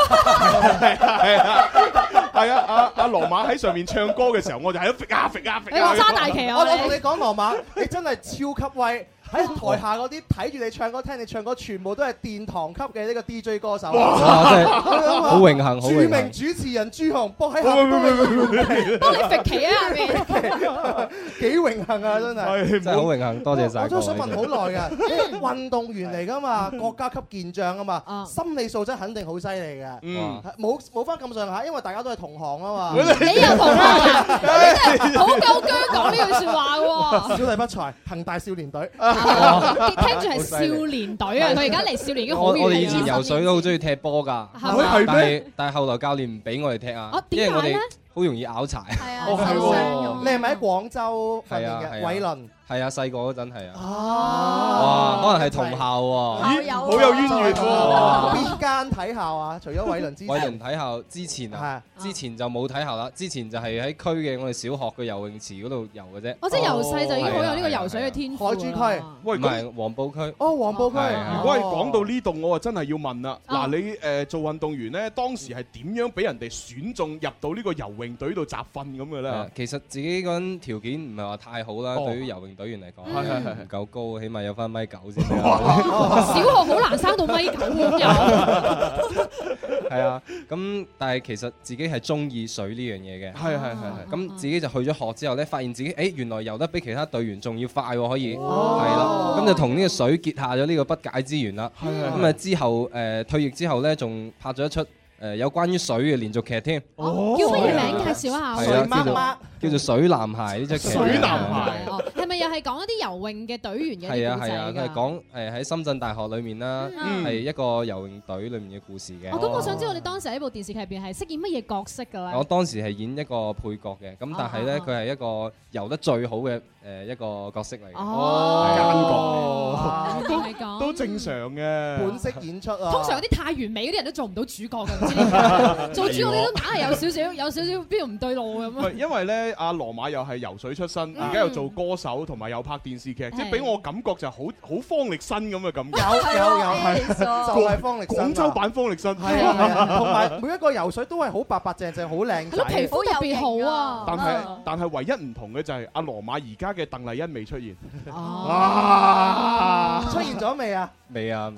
係啊，阿羅馬喺上面唱歌嘅時候，我就喺度揈啊揈啊揈。 你話揸大旗啊！ 我同你講，羅馬，你真係超級威。喺台下嗰啲睇住你唱歌、聽你唱歌，全部都係殿堂級嘅呢個 DJ 歌手。 哇！真係好榮幸，好榮幸。 著名主持人朱紅幫喺下邊幫你揈旗啊下邊， 幾榮幸啊！真係真係好榮幸，多謝晒。 我都想問好耐㗎，運動員嚟㗎嘛，國家級健將啊嘛，心理素質肯定好犀利嘅。冇翻咁上下，因為大家都係同行啊嘛。 你又同行，你真係好夠薑講呢句説話喎。 小弟不才，恒大少年隊。 聽住係少年隊啊！佢而家嚟少年已經好遠。 我哋以前游水都好中意踢波㗎，但係後來教練唔俾我哋踢啊，因為我哋好好容易拗柴。 係啊， 哦係受傷用喎，你係咪喺廣州訓練嘅？ 係啊係啊偉倫。 係啊，細個嗰陣係啊。 哦， 哇，可能係同校喎。 咦，好有淵源喎！ 邊間體校啊？除咗偉倫之前， 偉倫體校之前啊，之前就冇體校啦，之前就係喺區嘅我哋小學嘅游泳池嗰度游嘅啫。 我即係由細就已經好有呢個游水嘅天賦。 海珠區， 喂， 唔係黃埔區。 哦，黃埔區。 如果係講到呢度，我啊真係要問啦。嗱，你做運動員咧，當時係點樣俾人哋選中入到呢個游泳隊度集訓咁嘅咧？ 其實自己嗰陣條件唔係話太好啦，對於游泳隊員嚟講。唔夠高，起碼有翻1.9米先。 小學好難生到1.9米咁有。 係啊，咁但係其實自己係中意水呢樣嘢嘅。係。咁自己就去咗學之後咧，發現自己原來游得比其他隊員仲要快喎，可以。係啦，咁就同呢個水結下咗呢個不解之緣啦。咁啊之後退役之後咧，仲拍咗一出有關於水嘅連續劇添。 叫乜嘢名？介紹一下。 係啊，叫做《水男孩》呢隻劇。 水男孩。 係咪又係講一啲游泳嘅隊員嘅係啊故仔㗎？ 佢係講喺深圳大學裏面啦，係一個游泳隊裏面嘅故事嘅。 咁我想知道你當時喺部電視劇入邊係飾演乜嘢角色㗎咧？ 我當時係演一個配角嘅，咁但係咧佢係一個游得最好嘅一個角色嚟嘅。 奸角都正常嘅本色演出啊。 通常有啲太完美嗰啲人都做唔到主角㗎，唔知點解做主角你都硬係有少少邊度唔對路咁啊！ 因為咧阿羅馬又係游水出身，而家又做歌手，同埋又拍電視劇，即係俾我感覺就好方力申咁嘅感覺。 有，就係方力申。 廣州版方力申。 係啊，同埋每一個游水都係好白白淨淨，好靚仔。 皮膚特別好啊！ 但係唯一唔同嘅就係阿羅馬而家嘅鄧麗欣未出現。 出現咗未啊？ 未啊！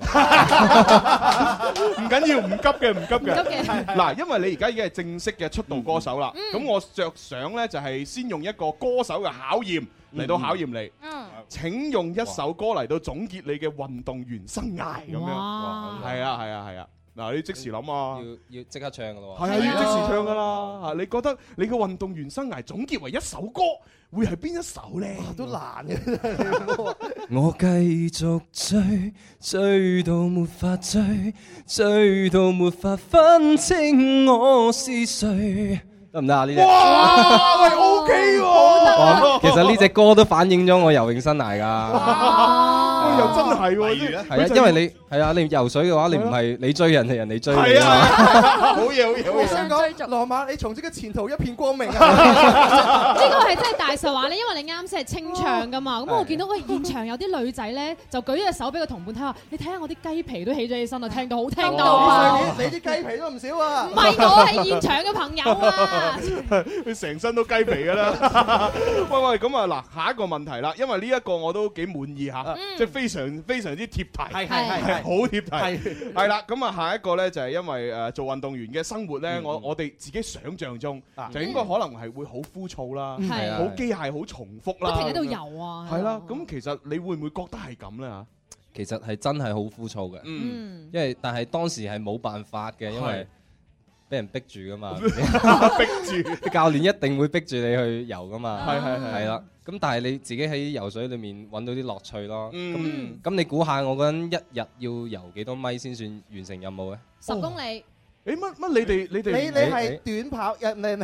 唔緊要，唔急嘅。嗱，因為你而家已經係正式嘅出道歌手啦，咁我着想咧就係先用一個歌手嘅考驗嚟到考驗你。請用一首歌嚟到總結你嘅運動員生涯咁樣。係啊。嗱，你即時諗啊， 要即刻唱㗎咯喎。 係啊，要即時唱㗎啦。嚇，你覺得你嘅運動員生涯總結為一首歌，會係邊一首咧？ 都難嘅。 我繼續追到沒法追到沒法分清我是誰。得唔得啊？呢隻哇，喂 OK 喎。 其實呢隻歌都反映咗我游泳生涯㗎。 又真係喎， 係啊，因為你游水嘅話，你唔係你追人，係人哋追你。 係啊，好嘢。 我想講，羅馬，你從此嘅前途一片光明啊！ 呢個係真係大實話咧，因為你啱先係清唱㗎嘛。咁我見到現場有啲女仔咧，就舉咗隻手俾個同伴睇下，你睇下我啲雞皮都起咗起身啊，聽到好聽到啊！ 你啲雞皮都唔少啊！ 唔係我係現場嘅朋友啊！ 佢成身都雞皮㗎啦！喂，咁啊嗱，下一個問題啦，因為呢一個我都幾滿意嚇，即係非常之貼題，係好貼題，係啦。咁啊，下一個咧就係因為做運動員嘅生活咧，我哋自己想象中就應該可能係會好枯燥啦，好機械、好重複啦， 不停喺度游啊。 係啦，咁其實你會唔會覺得係咁咧嚇？ 其實係真係好枯燥嘅，因為但係當時係冇辦法嘅，因為俾人逼住噶嘛， 逼住教練一定會逼住你去游噶嘛， 係啦。咁但係你自己喺游水裏面揾到啲樂趣咯。咁你估下我嗰陣一日要游幾多米先算完成任務咧 ？10公里。 誒乜你哋你係短跑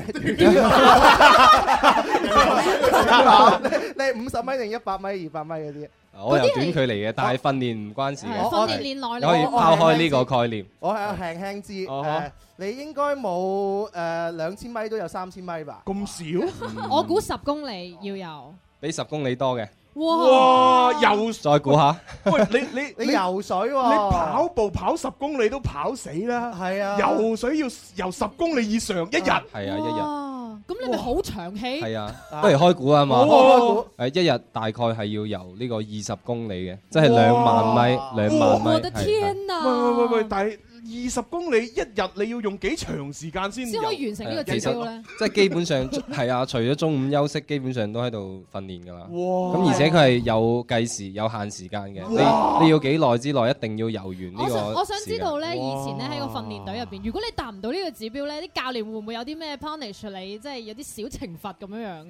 你50米定100米、200米嗰啲？ 我游短距離嘅，但係訓練唔關事嘅。 訓練練耐你可以拋開呢個概念。 我係輕知你應該冇2000米都有3000米吧？ 咁少？ 我估10公里要游。 比10公里多嘅。 哇！游再估下。 喂， 你游水喎？ 你跑步跑10公里都跑死啦。 係啊。 游水要游10公里以上一日。係啊，一日。 咁你咪好長氣。 係啊，不如開估啊嘛。一日大概係要游呢個20公里嘅，即係2萬米。2萬米。 我的天啊！ 喂，但係20公里一日你要用幾長時間先可以完成呢個指標咧？ 即係基本上係啊，除咗中午休息，基本上都喺度訓練㗎啦。 咁而且佢係有計時、有限時間嘅。你要幾耐之內一定要游完呢個。 我想知道咧，以前咧喺個訓練隊入邊，如果你達唔到呢個指標咧，啲教練會唔會有啲咩 punish 你，即係有啲小懲罰咁樣樣㗎？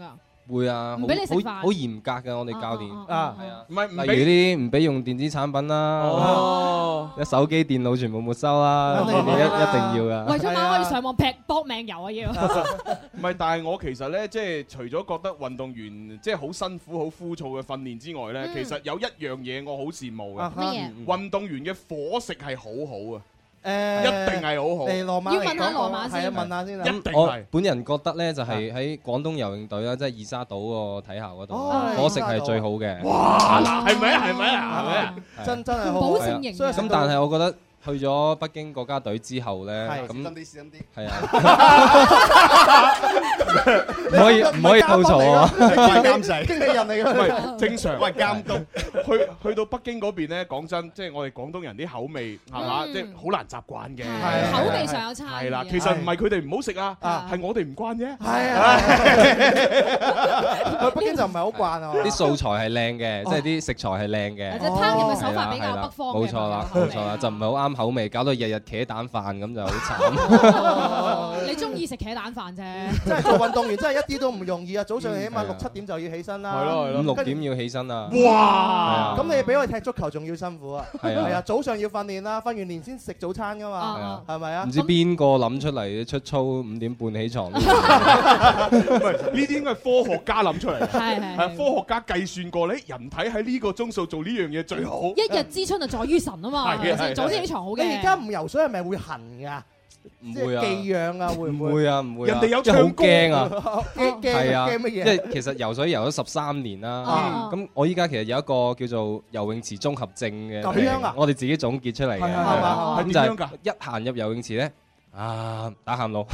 會啊， 唔俾你食飯好嚴格嘅我哋教練啊， 係啊， 唔係例如啲唔俾用電子產品啦，一手機電腦全部沒收啦，呢啲一定要噶。 為咗馬可以上網搏命遊啊要。 唔係，但係我其實咧，即係除咗覺得運動員即係好辛苦、好枯燥嘅訓練之外咧，其實有一樣嘢我好羨慕嘅。 乜嘢？ 運動員嘅伙食係好好啊！一定係好好。 要問下羅馬先， 問下先啦。 一定我係。 本人覺得咧，就係喺廣東游泳隊啦，即係二沙島個體校嗰度，伙食係最好嘅。 哇！嗱，係咪啊？係咪啊？係咪啊？ 真係好。 保證營養。 咁但係我覺得去咗北京國家隊之後咧，咁係啊，唔可以吐槽啊！ 監製經理人嚟㗎， 唔係正常。 喂，監督去到北京嗰邊咧，講真，即係我哋廣東人啲口味係嘛，即係好難習慣嘅。 口味上有差異。 係啦，其實唔係佢哋唔好食啊，係我哋唔慣啫。 係啊，去北京就唔係好慣啊。 啲素材係靚嘅，即係啲食材係靚嘅。 即係烹飪嘅手法比較北方嘅。 冇錯啦，冇錯啦，就唔係好啱口味，搞到日日茄蛋飯咁就好慘。 你中意食茄蛋飯啫。 真係做運動員真係一啲都唔容易啊！早上起碼6、7點就要起身啦。 係咯係咯。 5、6點要起身啊！ 哇！ 咁你比我哋踢足球仲要辛苦啊！ 係啊， 早上要訓練啦，訓完練先食早餐噶嘛，係咪啊？ 唔知邊個諗出嚟出操5點半起床？ 唔係呢啲應該係科學家諗出嚟。 係科學家計算過咧，人體喺呢個鐘數做呢樣嘢最好。 一日之春就在於晨啊嘛，早啲起床好嘅。 你而家唔游水係咪會痕㗎？ 唔會啊， 寄養啊，會唔會？ 唔會啊，唔會。 人哋有即係好驚啊！ 係啊，驚乜嘢？ 即係其實游水游咗13年啦。咁我依家其實有一個叫做游泳池綜合症嘅。 咁樣啊？ 我哋自己總結出嚟嘅。 係點樣㗎？ 一行入游泳池咧，打喊路，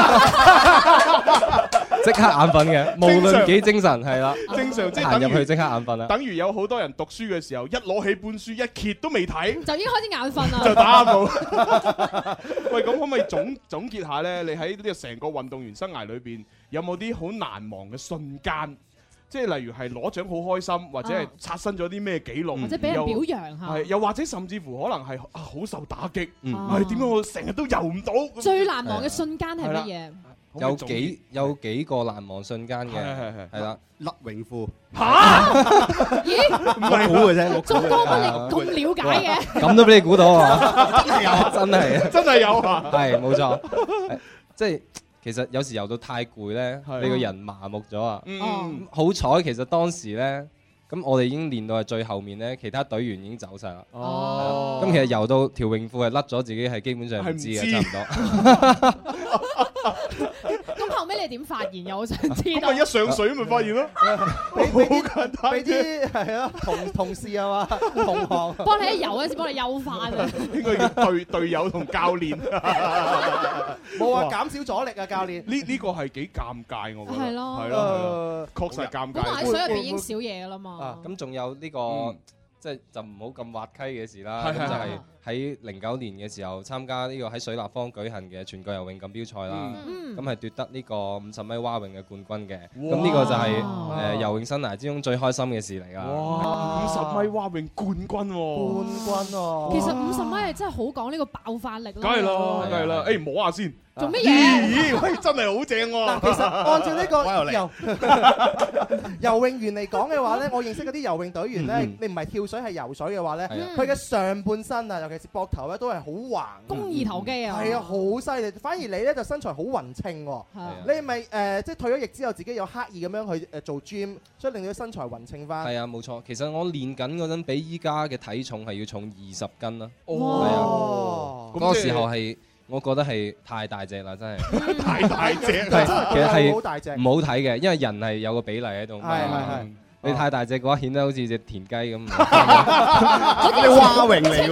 即刻眼瞓嘅，無論幾精神係啦。 正常即係行入去即刻眼瞓啦。 等於有好多人讀書嘅時候，一攞起本書一揭都未睇， 就已經開始眼瞓啦。 就打喊路。喂，咁可唔可以總結下咧？你喺呢個成個運動員生涯裏邊，有冇啲好難忘嘅瞬間？即係例如係攞獎好開心，或者係刷新咗啲咩紀錄， 或者俾人表揚嚇。 係，又或者甚至乎可能係好受打擊。係點解我成日都游唔到？ 最難忘嘅瞬間係乜嘢？ 有幾個難忘瞬間嘅，係啦， 甩泳褲嚇？咦？ 唔係估嘅啫， 鐘哥乜你咁了解嘅？ 咁都俾你估到啊！ 真係有， 真係真係有啊！ 係冇錯，即係其實有時游到太攰咧，你個人麻木咗啊！好彩其實當時咧，咁我哋已經練到係最後面咧，其他隊員已經走晒啦。咁其實游到條泳褲係甩咗，自己係基本上唔知嘅，差唔多。 咁後尾你點發現又我想知道？ 咁咪一上水咪發現咯，好簡單。 俾啲係咯同事啊嘛，同行幫你一游嗰時幫你優化啊。 應該叫隊友同教練。 冇啊，減少阻力啊，教練。 呢個係幾尷尬，我覺得。 係咯， 係咯，確實尷尬。 本來喺水入邊已經少嘢㗎啦嘛。 咁仲有呢個。即係就唔好咁滑稽嘅事啦，咁就係喺09年嘅時候參加呢個喺水立方舉行嘅全國游泳錦標賽啦，咁係奪得呢個50米蛙泳嘅冠軍嘅，咁呢個就係游泳生涯之中最開心嘅事嚟㗎。 哇！50米蛙泳冠軍喎！ 冠軍喎！ 其實50米係真係好講呢個爆發力咯。 梗係啦，梗係啦，誒摸下先。 做乜嘢？ 咦，真係好正喎！ 其實按照呢個游泳員嚟講嘅話咧，我認識嗰啲游泳隊員咧，你唔係跳水係游水嘅話咧，佢嘅上半身啊，尤其是膊頭咧，都係好橫， 肱二頭肌啊， 係啊，好犀利。反而你咧就身材好勻稱喎，你係咪即係退咗役之後自己有刻意咁樣去做 gym，所以令到身材勻稱翻？ 係啊，冇錯。其實我練緊嗰陣比依家嘅體重係要重20斤啦。 哦， 嗰個時候係。我覺得係太大隻啦，真係太大隻， 其實係好大隻， 唔好睇嘅，因為人係有個比例喺度。係。你太大隻嘅話，顯得好似隻田雞咁。 你蛙泳嚟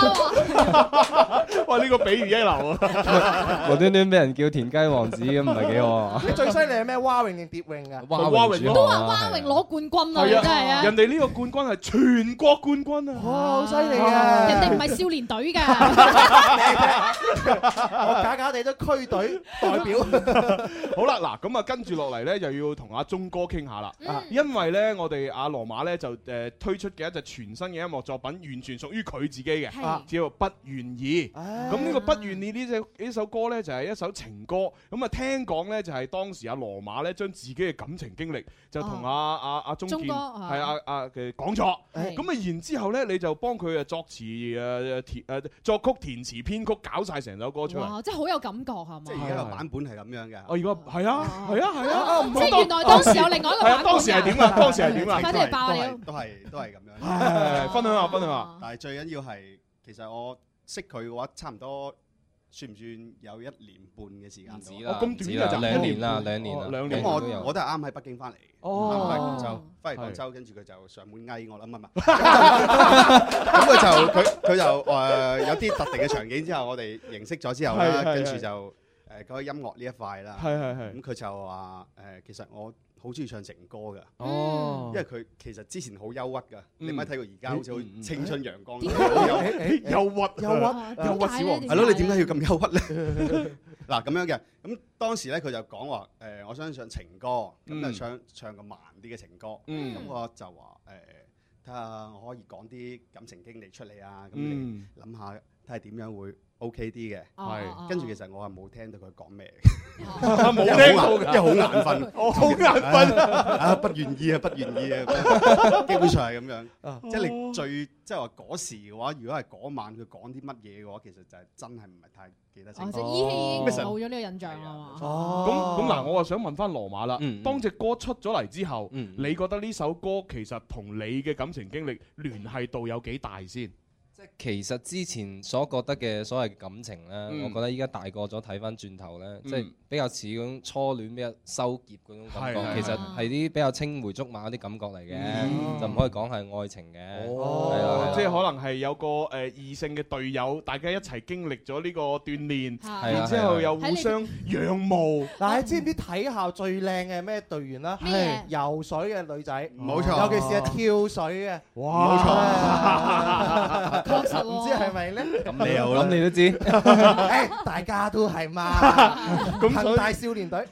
喎！ 哇！呢個比喻一流啊！ 無端端俾人叫田雞王子咁，唔係幾好。 你最犀利係咩？蛙泳定蝶泳㗎？ 蛙泳都話蛙泳攞冠軍啊！真係啊！ 人哋呢個冠軍係全國冠軍啊！ 哇，好犀利啊！ 人哋唔係少年隊㗎。 我假假地都區隊代表。 好啦，嗱咁啊，跟住落嚟咧，就要同阿鐘哥傾下啦。因為咧，我哋阿羅馬咧就推出嘅一隻全新嘅音樂作品，完全屬於佢自己嘅，叫做《不願意》。 咁呢個不願意呢首歌咧就係一首情歌，咁啊聽講咧就係當時阿羅馬咧將自己嘅感情經歷就同阿鍾健係嘅講咗，咁啊然之後咧你就幫佢作詞作曲填詞編曲搞晒成首歌出嚟。 哇！真係好有感覺係嘛？ 即係而家個版本係咁樣嘅。 而家係啊， 即係原來當時有另外一個版本。 當時係點啊？當時係點啊？ 快啲嚟爆料！ 都係咁樣。 係分享下。 但係最緊要係，其實我識佢嘅話，差唔多算唔算有1年半嘅時間？ 唔止啦， 咁短 2年啦。 咁我都係啱喺北京翻嚟，翻嚟廣州，跟住佢就上門嗌我啦，唔係。咁佢就有啲特定嘅場景之後，我哋認識咗之後啦，跟住就講音樂呢一塊啦。咁佢就話其實我好中意唱情歌㗎，因為佢其實之前好憂鬱㗎，你咪睇過而家好似好青春陽光，憂鬱小王，係咯，你點解要咁憂鬱咧？嗱咁樣嘅，咁當時咧佢就講話我想唱情歌，咁就唱個慢啲嘅情歌，咁我就話睇下我可以講啲感情經歷出嚟啊，咁你諗下睇下點樣會 OK 啲嘅，係跟住其實我係冇聽到佢講咩， 冇聽到， 因為好眼瞓， 好眼瞓不願意啊，基本上係咁樣，即係你即係話嗰時嘅話，如果係嗰晚佢講啲乜嘢嘅話，其實就係真係唔係太記得清楚。 依稀冇咗呢個印象啊嘛。 咁嗱，我啊想問翻羅馬啦，當隻歌出咗嚟之後，你覺得呢首歌其實同你嘅感情經歷聯繫度有幾大先？ 即係其實之前所覺得嘅所謂感情咧，我覺得依家大個咗睇翻轉頭咧，即係比較似嗰種初戀比較收結嗰種感覺，其實係啲比較青梅竹馬嗰啲感覺嚟嘅，就唔可以講係愛情嘅。 即係可能係有個異性嘅隊友，大家一齊經歷咗呢個鍛鍊，然之後又互相仰慕。 嗱，你知唔知體校最靚嘅咩隊員啦？係游水嘅女仔， 冇錯， 尤其是係跳水嘅， 哇， 冇錯。 確實唔知係咪咧？ 咁你又諗你都知， 大家都係嘛。恒大少年隊。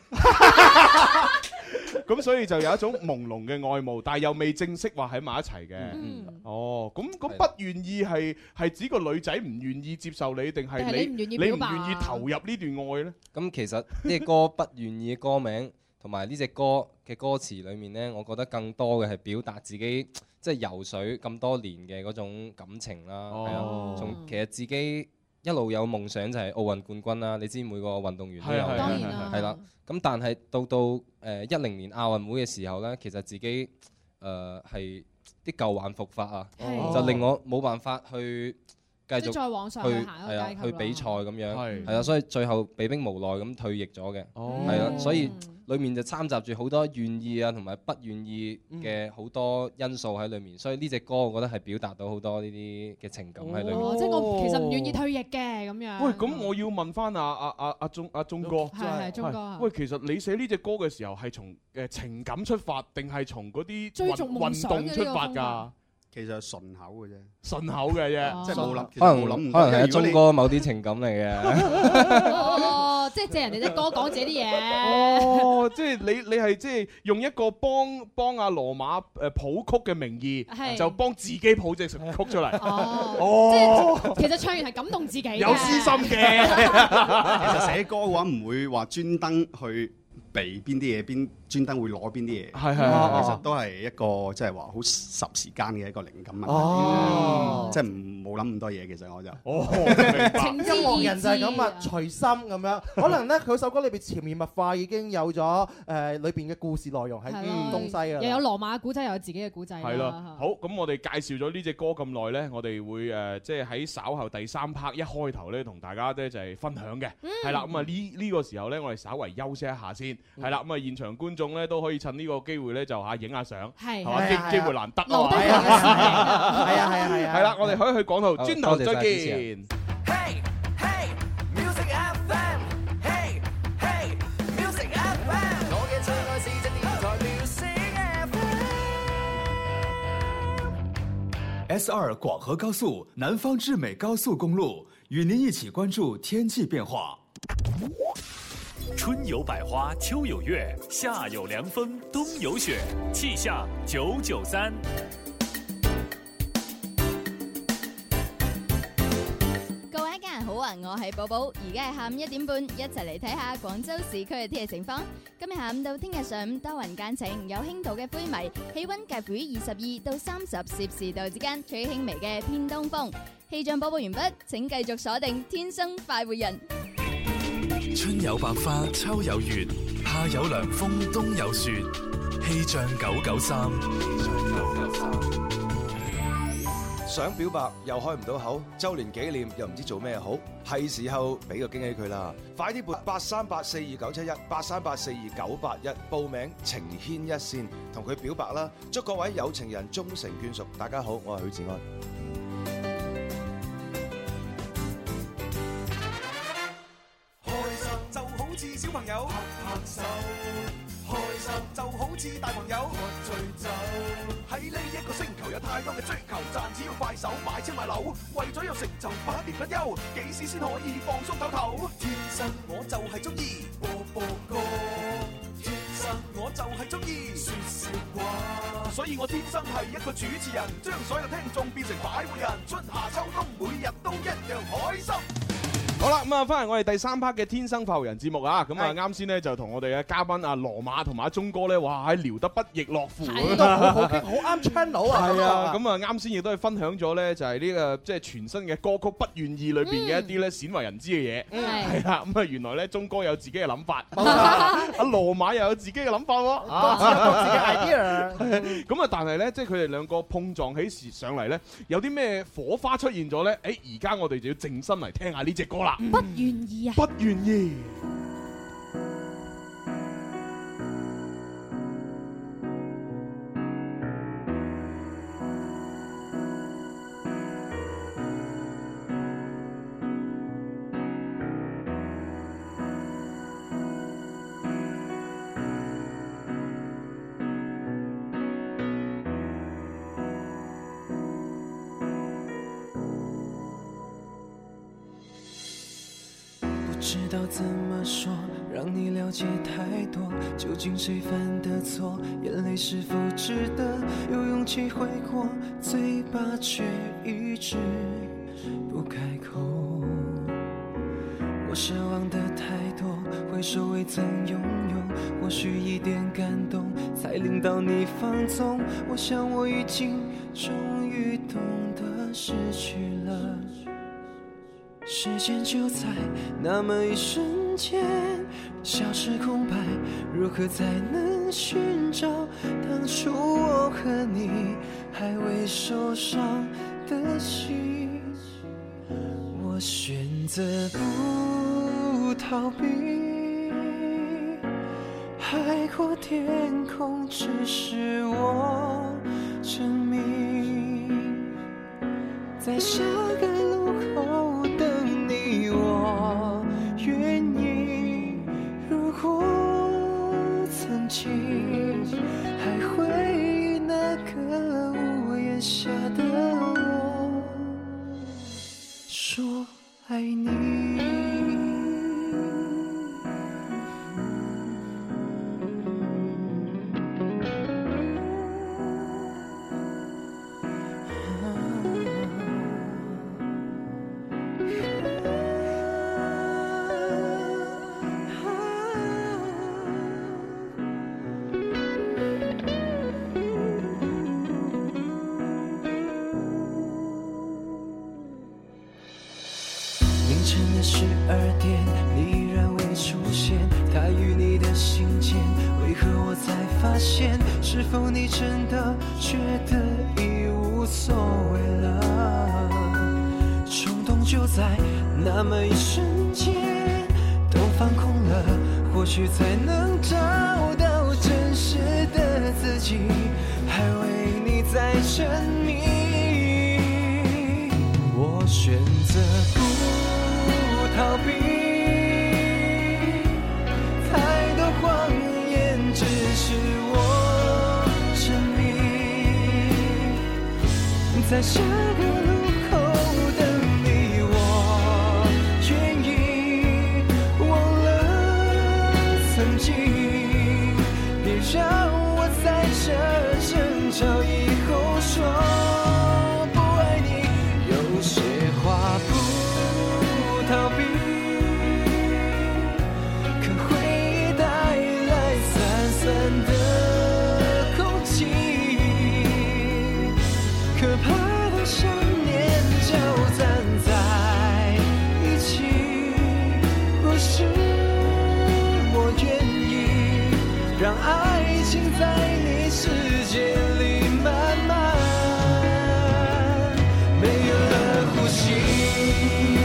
咁所以就有一種朦朧嘅愛慕，但係又未正式話喺埋一齊嘅。哦，咁不願意係指個女仔唔願意接受你，定係你唔願意投入呢段愛呢？ 咁其實呢個歌不願意嘅歌名同埋呢隻歌嘅歌詞裡面呢，我覺得更多嘅係表達自己即係游水咁多年嘅嗰種感情啦。係啊，從其實自己一路有夢想就係奧運冠軍啦。你知每個運動員都有，係啦。咁但係到10年亞運會嘅時候呢，其實自己係啲舊患復發啊，就令我冇辦法去繼續再往上去行一個階級去比賽咁樣，係啊，所以最後被逼無奈咁退役咗嘅，係啦，所以裡面就摻雜住好多願意啊同埋不願意嘅好多因素喺裡面，所以呢隻歌我覺得係表達到好多呢啲嘅情感喺裡面。 即係我其實唔願意退役嘅咁樣。 喂，咁我要問翻阿鐘哥， 係鐘哥。 喂，其實你寫呢隻歌嘅時候係從情感出發，定係從嗰啲運動出發㗎？ 其實係順口嘅啫， 順口嘅啫， 即係冇諗， 可能係阿鐘哥某啲情感嚟嘅。 哦，即係借人哋啲歌講自己啲嘢。 哦，即係你係即係用一個幫阿羅馬譜曲嘅名義，就幫自己譜隻曲出嚟。 哦，即係其實唱完係感動自己， 有私心嘅。 其實寫歌嘅話唔會話專登去避邊啲嘢，專登會攞邊啲嘢，其實都係一個即係話好霎時間嘅一個靈感問題，即係冇諗咁多嘢。其實我就音樂人就係咁啊，隨心咁樣。可能咧佢首歌裏邊潛移默化已經有咗裏邊嘅故事內容喺東西啊， 又有羅馬嘅古仔，又有自己嘅古仔。 係啦，好，咁我哋介紹咗呢隻歌咁耐咧，我哋會即係喺稍後第3 part 一開頭咧，同大家咧就係分享嘅。係啦，咁啊呢個時候咧，我哋稍為休息一下先。係啦，咁啊現場觀眾咧都可以趁呢個機會咧就影下相，係嘛，機會難得啊！係啦，我哋可以去廣途轉頭再見。 S2廣河高速南方至美高速公路與您一起關注天氣變化。 春有百花，秋有月，夏有涼風，冬有雪，氣象993。 我係寶寶，而家係下午1點半，一齊嚟睇下廣州市區嘅天氣情況。今日下午到聽日上午多雲間晴，有輕度嘅灰霾，氣溫介乎於22到30攝氏度之間，吹輕微嘅偏東風。氣象播報完畢，請繼續鎖定天生快活人。 春有百花，秋有月，夏有涼風，冬有雪。氣象993。 想表白又開唔到口，周年紀念又唔知做咩好，係時候俾個驚喜佢啦！快啲撥83842971，83842981報名情牽一線，同佢表白啦！祝各位有情人終成眷屬。大家好，我係許志安。 開心就好似小朋友拍拍手，開心就好似大朋友喝醉酒。喺呢一個星球有太多嘅追求，賺錢要快手買車買樓，為咗有成就百年不休，幾時先可以放鬆唞唞？天生我就係中意播播歌，天生我就係中意說笑話，所以我天生係一個主持人，將所有聽眾變成快活人，春夏秋冬每日都一樣開心。 好啦，咁啊，翻嚟我哋第3 part 嘅天生快活人節目啊，咁啊，啱先咧就同我哋嘅嘉賓阿羅馬同埋阿鐘哥咧，哇，聊得不亦樂乎， 都好啱 channel 啊！ 係啊，咁啊，啱先亦都係分享咗咧，就係呢個即係全新嘅歌曲《不願意》裏邊嘅一啲咧鮮為人知嘅嘢，係啦，咁啊，原來咧鐘哥有自己嘅諗法，阿羅馬又有自己嘅諗法喎， 各自嘅 idea。 咁啊，但係咧，即係佢哋兩個碰撞起時上嚟咧，有啲咩火花出現咗咧？誒，而家我哋就要靜心嚟聽下呢隻歌啦。 不願意啊！ 不願意。 不知道怎么说，让你了解太多，究竟谁犯的错，眼泪是否值得，有勇气悔过，嘴巴却一直不开口。我奢望的太多，回首未曾拥有，或许一点感动才令到你放纵。我想我已经终于懂得失去了，时间就在那么一瞬间消失空白，如何才能寻找当初我和你还未受伤的心？我选择不逃避，海阔天空只是我证明，在下个路口等你，我愿意。如果曾经还会那个屋檐下的我说爱你。凌晨的12点，你依然未出现，他与你的信件，为何我才发现？是否你真的觉得已无所谓了？冲动就在那么一瞬间都放空了，或许才能找到真实的自己，还为你在沉迷。我选择不逃避，太多谎言只是我证明，在下个路口等你，我愿意。忘了曾经，别让我在这争吵以后说不爱你，有些话不逃避， 讓愛情在你世界裡慢慢沒有了呼吸。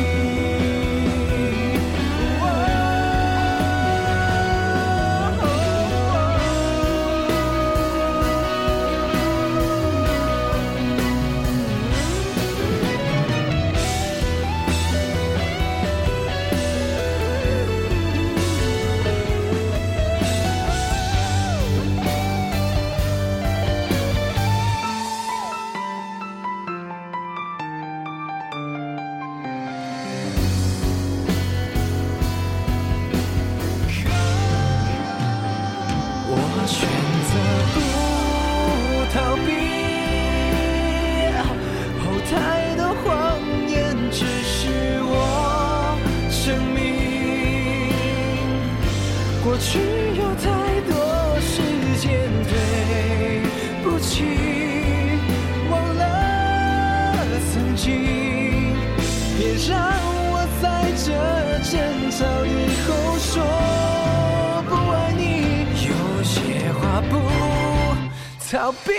過去有太多時間，對不起，忘了曾經，別讓我在這爭吵以後說不愛你，有些話不逃避，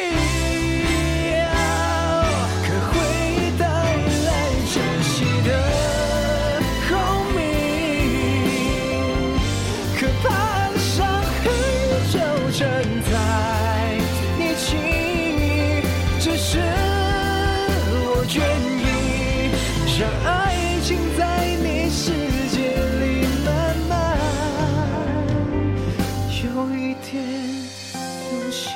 可會帶來窒息的正在一起，只是我願意讓愛情在你世界裡慢慢有一點呼吸。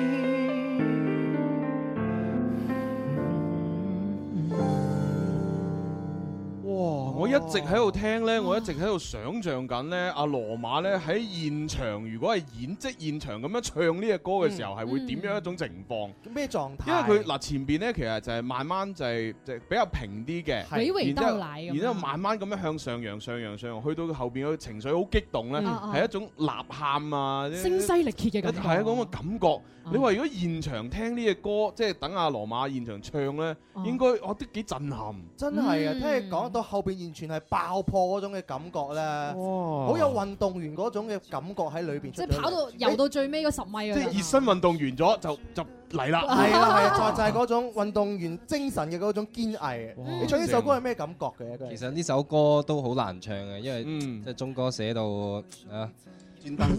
我一直喺度聽咧，我一直喺度想像緊咧，阿羅馬咧喺現場，如果係現場咁樣唱呢隻歌嘅時候，係會點樣一種情況？ 咩狀態？ 因為佢嗱前邊咧，其實就係慢慢就係比較平啲嘅，然之後慢慢咁樣向上揚，去到後邊個情緒好激動咧，係一種吶喊啊， 聲嘶力竭嘅感覺， 係一種感覺。你話如果現場聽呢隻歌，即係等阿羅馬現場唱咧，應該都幾震撼。 真係啊！聽你講到後邊完全係爆破嗰種嘅感覺咧，好有運動員嗰種嘅感覺喺裏邊。 即係跑到游到最尾嗰10米啊！ 即係熱身運動完咗就嚟啦。 係啊，就係嗰種運動員精神嘅嗰種堅毅。你唱呢首歌係咩感覺嘅？ 其實呢首歌都好難唱嘅，因為即係鐘哥寫到啊。專登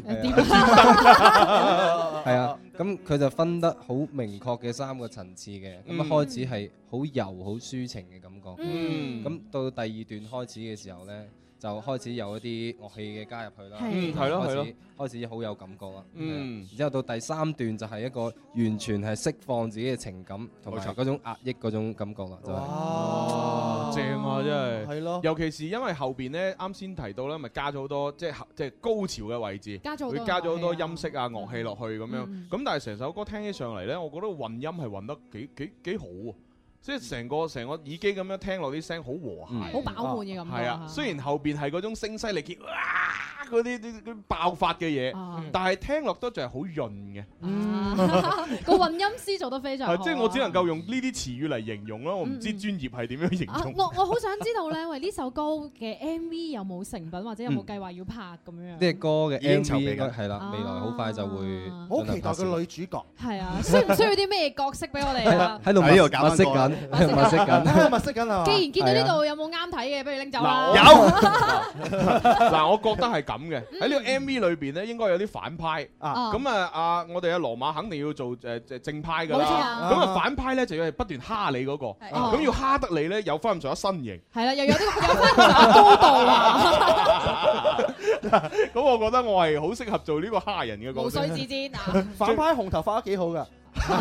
係啊，咁佢就分得好明確嘅3個層次嘅，咁一開始係好柔好抒情嘅感覺，咁到第2段開始嘅時候咧，就開始有一啲樂器嘅加入去啦， 係咯， 開始好有感覺啦，然之後到第3段就係一個完全係釋放自己嘅情感同埋嗰種壓抑嗰種感覺啦，就係哇，正啊，真係， 係咯， 尤其是因為後邊咧啱先提到咧，咪加咗好多即係高潮嘅位置，佢加咗好多音色啊樂器落去咁樣，咁但係成首歌聽起上嚟咧，我覺得混音係混得幾好啊！即係成個耳機咁樣聽落啲聲好和諧， 好飽滿嘅感覺。 係啊，雖然後邊係嗰種聲嘶力竭，哇嗰啲爆發嘅嘢，但係聽落都仲係好潤嘅。 個混音師做得非常好。 即係我只能夠用呢啲詞語嚟形容啦，我唔知專業係點樣形容。 我好想知道咧，喂呢首歌嘅 MV 有冇成品或者有冇計劃要拍咁樣？ 呢隻歌嘅 MV 係啦，未來好快就會。 好期待個女主角。 係啊，需唔需要啲咩角色俾我哋啊？ 喺度物色緊。物色緊啊！ 既然見到呢度有冇啱睇嘅，不如拎走啦。 有嗱，我覺得係咁嘅。喺呢個 MV 裏邊咧，應該有啲反派啊。咁我哋阿羅馬肯定要做正派㗎啦。咁啊反派咧就要係不斷蝦你嗰個。咁要蝦得你咧，有翻咁上下身形。 係啦，又有翻咁上下高度啊。 咁我覺得我係好適合做呢個蝦人嘅角色。 無須自薦啊！ 反派紅頭髮都幾好㗎。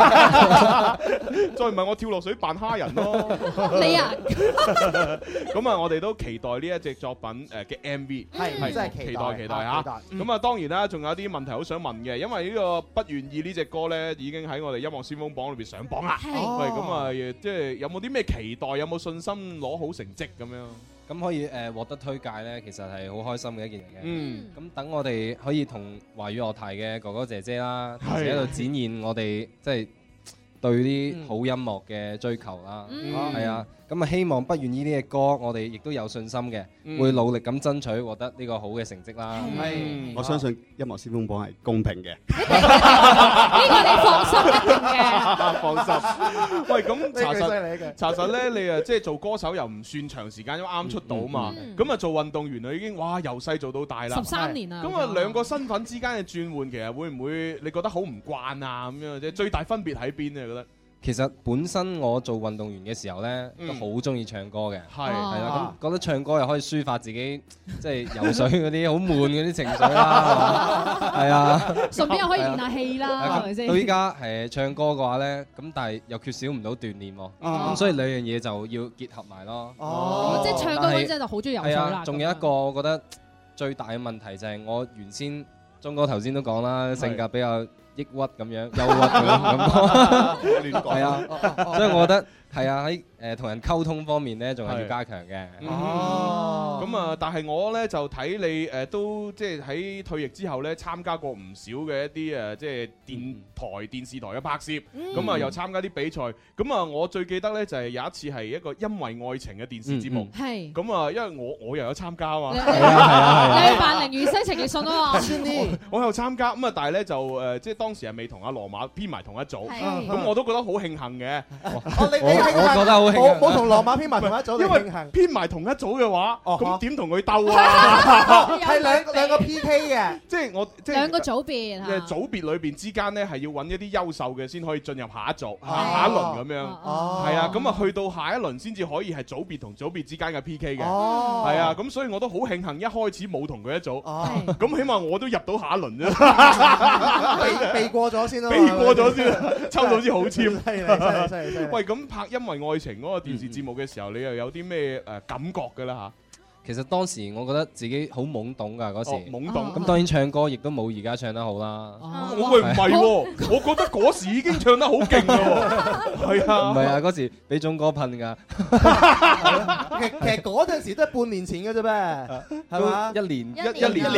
再唔係我跳落水扮蝦人咯。 你啊， 咁啊，我哋都期待呢一隻作品嘅 MV， 係真係期待嚇。咁啊，當然啦，仲有啲問題好想問嘅，因為呢個不願意呢隻歌咧，已經喺我哋音樂先鋒榜裏邊上榜啦。喂，咁啊，即係有冇啲咩期待？有冇信心攞好成績咁樣？ 咁可以獲得推介咧，其實係好開心嘅一件嚟嘅。咁等我哋可以同華語樂壇嘅哥哥姐姐啦，喺度展現我哋即係對啲好音樂嘅追求啦。係啊， 咁啊希望不願意呢隻歌，我哋亦都有信心嘅，會努力咁爭取獲得呢個好嘅成績啦。 我相信音樂先鋒榜係公平嘅。 呢個你放心一定嘅。 放心。喂，咁查犀利嘅實咧，你啊即係做歌手又唔算長時間，因為啱出道嘛。咁啊做運動員啊已經哇由細做到大啦。 13年啦。 咁啊兩個身份之間嘅轉換，其實會唔會你覺得好唔慣啊？咁樣啫，最大分別喺邊啊？覺得？ 其實本身我做運動員嘅時候呢，都好中意唱歌嘅，係啦，咁覺得唱歌又可以抒發自己，即係游水嗰啲好悶嗰啲情緒啦，係啊， 順便又可以練下氣啦，係咪先？ 到依家唱歌嘅話呢，咁但係又缺少唔到鍛鍊喎，咁所以兩樣嘢就要結合埋咯。 即係唱歌嗰陣就好中意游水啦。 仲有一個我覺得最大嘅問題就係我原先鐘哥頭先都講啦，性格比較抑鬱咁樣，憂鬱咁講，係啊，所以我覺得係啊喺同人溝通方面咧，仲係要加強嘅。 哦，咁啊，但係我咧就睇你都即係喺退役之後咧，參加過唔少嘅一啲即係電視台嘅拍攝，咁啊又參加啲比賽。咁啊，我最記得咧就係有一次係一個因為愛情嘅電視節目。係。咁啊，因為我又有參加啊嘛。係啊。 你扮凌如西情義信啊嘛。 我有參加，咁啊，但係咧就即係當時係未同阿羅馬編埋同一組，咁我都覺得好慶幸嘅。 我覺得好慶幸， 冇同羅馬編埋同一組， 因為編埋同一組嘅話，咁點同佢鬥啊？ 係兩個 PK 嘅， 即係我即係兩個組別嚇。 組別裏邊之間咧係要揾一啲優秀嘅先可以進入下一組、下一輪咁樣。係啊，咁啊去到下一輪先至可以係組別同組別之間嘅 PK 嘅。係啊，咁所以我都好慶幸一開始冇同佢一組。咁起碼我都入到下一輪啫。 避過咗先咯， 避過咗先，抽到支好簽。 犀利！ 喂，咁拍《因為愛情》嗰個電視節目嘅時候，你又有啲咩感覺㗎啦嚇？ 其實當時我覺得自己好懵懂㗎嗰時， 懵懂。 咁當然唱歌亦都冇而家唱得好啦。 我唔係喎，我覺得嗰時已經唱得好勁㗎喎。係啊， 唔係啊，嗰時俾鐘哥噴㗎。 其實嗰陣時都係半年前嘅啫咩？係嘛？ 一年前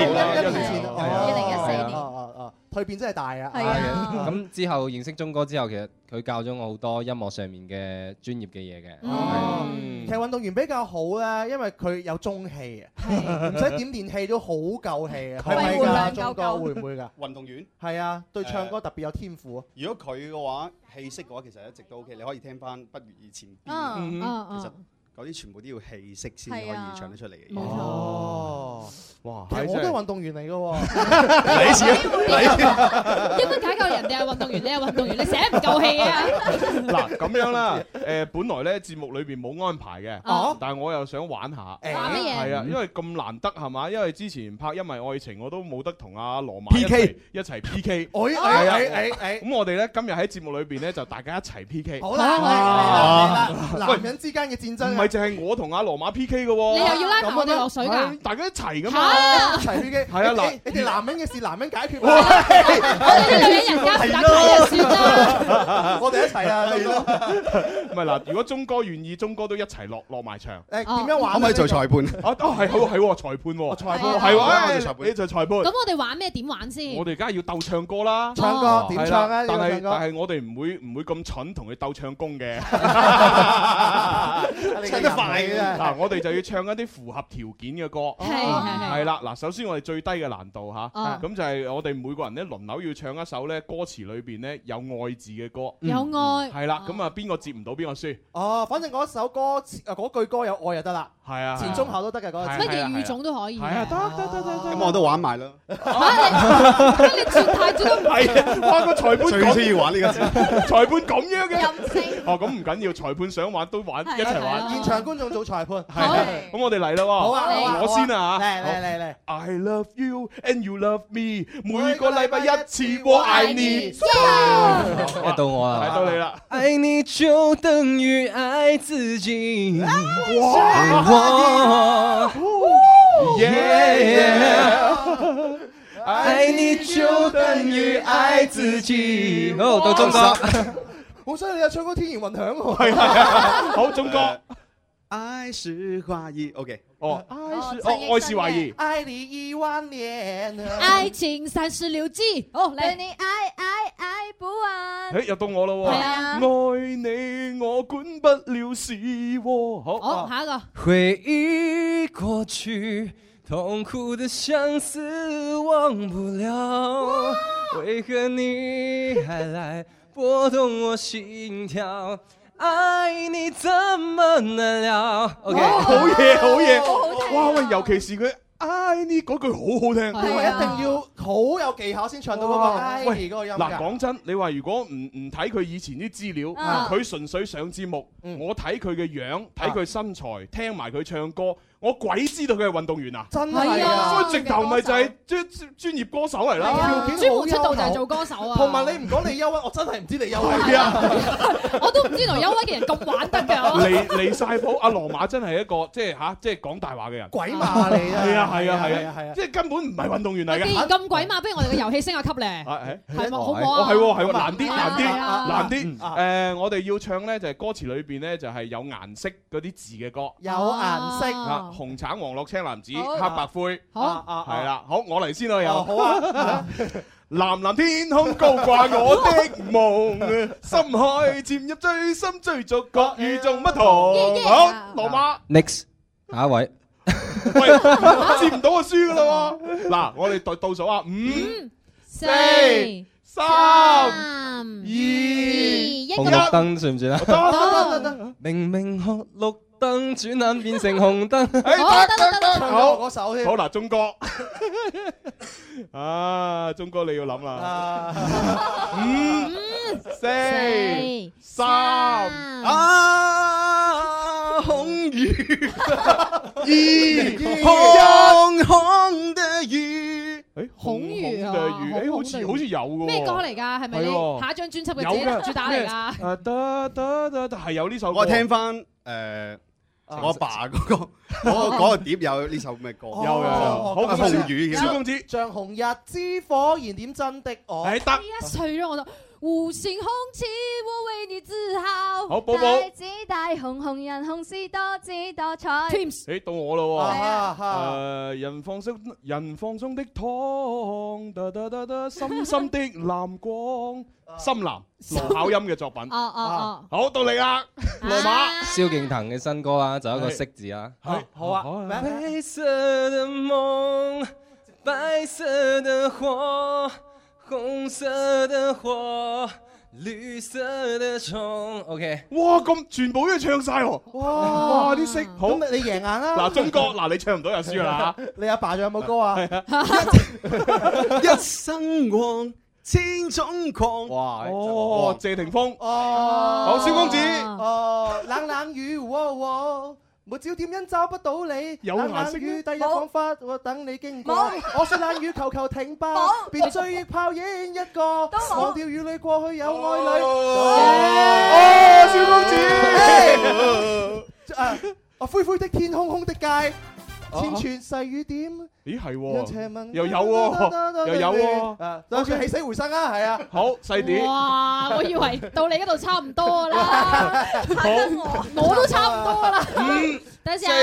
2014年。 蛻變真係大啊！ 係啊，咁之後認識鐘哥之後，其實佢教咗我好多音樂上面嘅專業嘅嘢嘅。 其實運動員比較好咧，因為佢有中氣啊，唔使點練氣都好夠氣啊。係咪㗎？鐘哥會唔會㗎？ 運動員係啊，對唱歌特別有天賦啊。 如果佢嘅話，氣息嘅話，其實一直都 OK。你可以聽翻《不如以前》邊，其實嗰啲全部都要氣息先可以唱得出嚟嘅。 哦，哇！其實我都係運動員嚟嘅喎。 你似一般解救人哋係運動員，你係運動員，你成日唔夠氣啊！ 嗱咁樣啦，本來咧節目裏邊冇安排嘅，但係我又想玩下。 玩乜嘢？ 係啊，因為咁難得係嘛，因為之前拍《因為愛情》我都冇得同阿羅馬 PK 一齊 PK。咁我哋咧今日喺節目裏邊咧就大家一齊 PK。 好啦，男人之間嘅戰爭。 唔係淨係我同阿羅馬 PK 嘅喎， 你又要拉埋我哋落水㗎？ 大家一齊㗎嘛， 一齊 PK。 係啊，嗱， 你哋男人嘅事男人解決。 我哋啲女人人家打牌就算啦。 我哋一齊啊！ 唔係嗱，如果鐘哥願意，鐘哥都一齊落埋場。 點樣玩？ 可唔可以做裁判？ 係裁判喎， 裁判係喎，你就裁判。 咁我哋玩咩？點玩先？ 我哋梗係要鬥唱歌啦。 唱歌點唱啊？ 但係我哋唔會咁蠢同佢鬥唱功嘅。唱得快嘅嗱，我哋就要唱一啲符合條件嘅歌，係啦。嗱，首先我哋最低嘅難度嚇，咁就係我哋每個人咧輪流要唱一首咧歌詞裏邊咧有愛字嘅歌， 有愛係啦。咁啊，邊個接唔到邊個輸？ 哦，反正嗰首歌嗰句歌有愛就得啦。 係啊， 前中後都得嘅嗰個。 乜嘢語種都可以。係啊，得。 咁我都玩埋啦。 你轉態轉得唔係啊！哇，個裁判最需要玩呢個字， 裁判咁樣嘅。 任性。 哦，咁唔緊要，裁判想玩都玩，一齊玩。 現場觀眾做裁判。 係。咁我哋嚟啦喎。 好啊， 我先啊嚇。 嚟。 I love you and you love me， 每個禮拜一次，我愛你。 到我啦， 到你啦。 愛你就等於愛自己。愛你就等於愛自己。好，到鐘哥。 好犀利啊！唱歌天然混響喎。 係啊，好，鐘哥。 愛是懷疑 ，OK。 哦，愛是懷疑。 愛你10000年。 愛情36計。哦， 對你愛不完。 又到我咯喎。 係啊。 愛你我管不了是喎。 好，下一個。 回憶過去，痛苦的相思忘不了，為何你還來撥動我心跳？愛你怎麼能了 ？OK， 好嘢，好嘢。哇喂，尤其是佢。愛你嗰句好好聽， 佢一定要好有技巧先唱到嗰個愛你嗰個音。 嗱，講真，你話如果唔睇佢以前啲資料，佢純粹上節目，我睇佢嘅樣，睇佢身材，聽埋佢唱歌，我鬼知道佢係運動員啊！ 真係啊， 所以直頭咪就係專業歌手嚟啦。 條件專門出道就係做歌手啊！ 同埋你唔講你憂鬱，我真係唔知你憂鬱。 係啊， 我都唔知道憂鬱嘅人咁玩得㗎。 離曬譜，阿羅馬真係一個即係講大話嘅人。 鬼馬嚟啊！ 係啊，即係根本唔係運動員嚟嘅。 既然咁鬼馬，不如我哋嘅遊戲升下級咧。係咪好唔好啊？ 係難啲。我哋要唱咧就係歌詞裏邊咧就係有顏色嗰啲字嘅歌。 有顏色。 紅橙黃綠青藍紫黑白灰。 好。 係啦，好，我嚟先咯又。 好啊。 藍藍天空高掛我的夢，深海潛入最深追逐各與眾不同。好，羅馬。 Next， 下一位。 喂，接唔到就輸噶啦喎！嗱，我哋倒數啊，5、4、3、2、1。 紅綠燈算唔算啊？ 得。 明明紅綠燈，轉眼變成紅燈。 得。好，嗰首添。 好嗱，鐘哥。鐘哥你要諗啦。5、4、3。 紅雨紅紅的雨， 紅雨啊， 好似有嘅。 咩歌嚟㗎？係咪你下一張專輯嘅主打嚟㗎？ 得係有呢首歌。 我聽翻我阿爸嗰個碟有呢首咩歌？ 有。好，紅雨。蕭公子， 像紅日之火燃點真的我。 得。 一歲咯，我都。五星紅旗，我為你自豪。 好，寶寶。 大紫大紅，紅人紅是多姿多彩。 到我啦喎。人放鬆的糖，深深的藍光，深藍羅巧音嘅作品。好，到你啦，羅馬。 蕭敬騰嘅新歌啦，就一個色字啦。 好啊。 白色的夢，白色的火。紅色的火，綠色的蟲。OK， 哇，咁全部都唱晒喎！哇，啲色好， 咁你贏硬啦！ 嗱，鐘哥，嗱你唱唔到就輸啦。 你阿爸仲有冇歌啊？ 一生旺，千種狂。 哇！謝霆鋒。 好， 蕭公子。 冷冷雨，沒焦點因找不到你， 有顏色雨第日彷彿我等你經過，我說冷雨求求停吧，別追憶泡影一個，忘掉與你過去有愛侶。蕭公子，灰灰的天空空的街，千串細雨點。 咦係喎，又有喎， 就算起死回生啊，係啊。 好細啲。 哇！我以為到你嗰度差唔多啦，我都差唔多啦。等下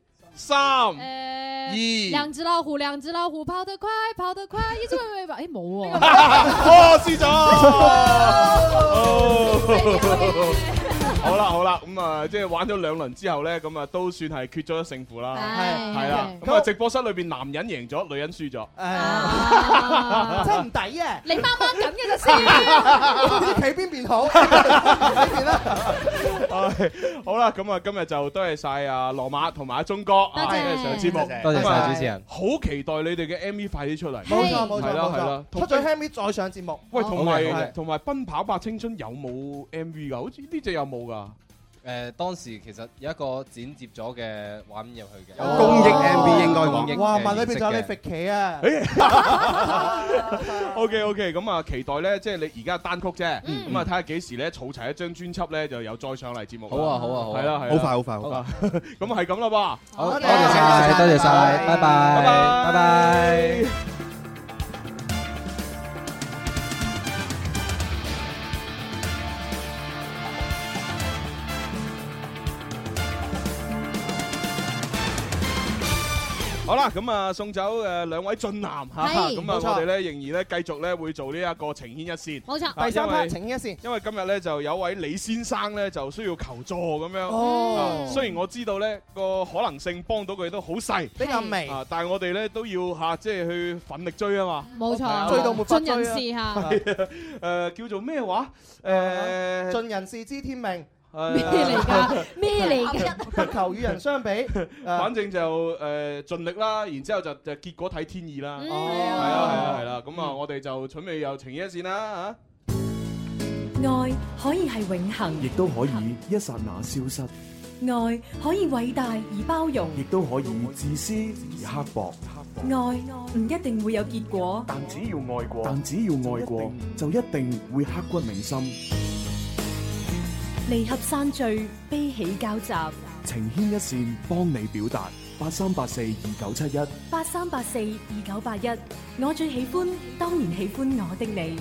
4、3、2。 兩隻老虎，跑得快，一隻尾巴，冇喎。 輸咗。好啦，咁即係玩咗2輪之後咧，咁都算係決咗勝負啦。係啦，咁直播室裏邊男人贏咗，女人輸咗。 真唔抵啊！ 你掹緊嘅就先， 唔知企邊邊好，呢邊啦。 好啦，咁今日就多謝晒阿羅馬同埋阿鐘哥上節目， 多謝晒主持人。 好期待你哋嘅 MV 快啲出嚟。 冇錯， 係啦， 出咗 MV 再上節目。 喂，同埋奔跑吧青春有冇 MV 㗎？好似呢隻有冇㗎？ 當時其實有一個剪接咗嘅畫面入去嘅， 公益 MV 應該講。 哇！問裏邊仲有你揈旗啊 ！OK， 咁期待咧，即係你而家單曲啫，咁睇下幾時咧儲齊一張專輯咧，就有再上嚟節目。 好啊， 係啦， 好快。 咁係咁啦噃。 好，多謝晒，拜拜。 好啦，咁啊送走兩位俊男嚇，咁啊我哋咧仍然咧繼續咧會做呢一個情牽一線。 冇錯， 第三 part 情牽一線。 因為今日咧就有位李先生咧就需要求助咁樣。雖然我知道咧個可能性幫到佢都好細， 比較微， 但係我哋咧都要嚇即係去奮力追啊嘛。 冇錯， 追到沒法追盡人事嚇。 叫做咩話？ 盡人事知天命。 咩嚟㗎？咩嚟㗎？ 不求與人相比， 反正就盡力啦，然之後就結果睇天意啦。係啦，咁啊，我哋就準備有情牽一線啦嚇。愛可以係永恆， 亦都可以一剎那消失。 愛可以偉大而包容， 亦都可以自私而刻薄。 愛唔一定會有結果， 但只要愛過，就一定會刻骨銘心。 離合散聚，悲喜交集， 情牽一線，幫你表達。83842971 83842981，我最喜歡，當然喜歡我的你。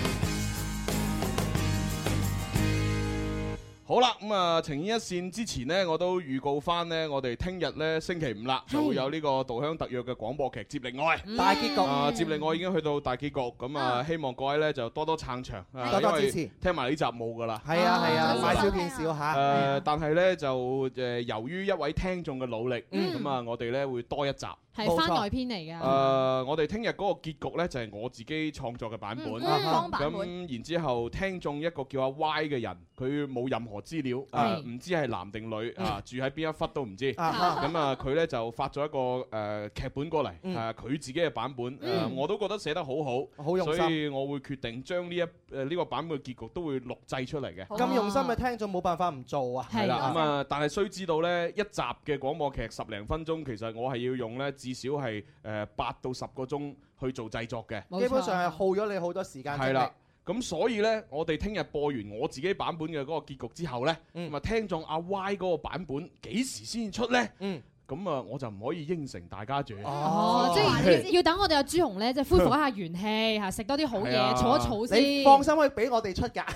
好啦，咁啊，情牽一線之前呢，我都預告翻呢，我哋聽日呢星期五啦，就會有呢個《稻香特約》嘅廣播劇《接力愛》 大結局。 接力愛已經去到大結局，咁啊，希望各位呢就多多撐場， 多多支持。 聽埋呢集冇噶啦。 係啊，買少見少嚇。 但係呢，就由於一位聽眾嘅努力，咁啊，我哋呢會多一集。 係番外篇嚟㗎。 我哋聽日嗰個結局呢，就係我自己創作嘅版本。咁然之後，聽眾一個叫阿 Y 嘅人，佢冇任何資料，唔知係男定女住喺邊一忽都唔知。咁啊，佢呢就發咗一個劇本過嚟，佢自己嘅版本，我都覺得寫得好好， 好用心， 所以我會決定將呢個版本嘅結局都會錄製出嚟嘅。 咁用心嘅聽眾冇辦法唔做啊！ 係啦，咁啊，但係須知道呢，一集嘅廣播劇10零分鐘，其實我係要用呢至少係8到10個鐘去做製作嘅， 基本上係耗咗你好多時間精力。係啦， 咁所以呢，我哋聽日播完我自己版本嘅嗰個結局之後呢，咁啊聽眾阿 Y 嗰個版本幾時先出呢？咁啊，我就唔可以應承大家住。 即係要等我哋阿朱紅咧，即係恢復一下元氣嚇，食多啲好嘢，儲一儲先。 你放心，可以俾我哋出㗎。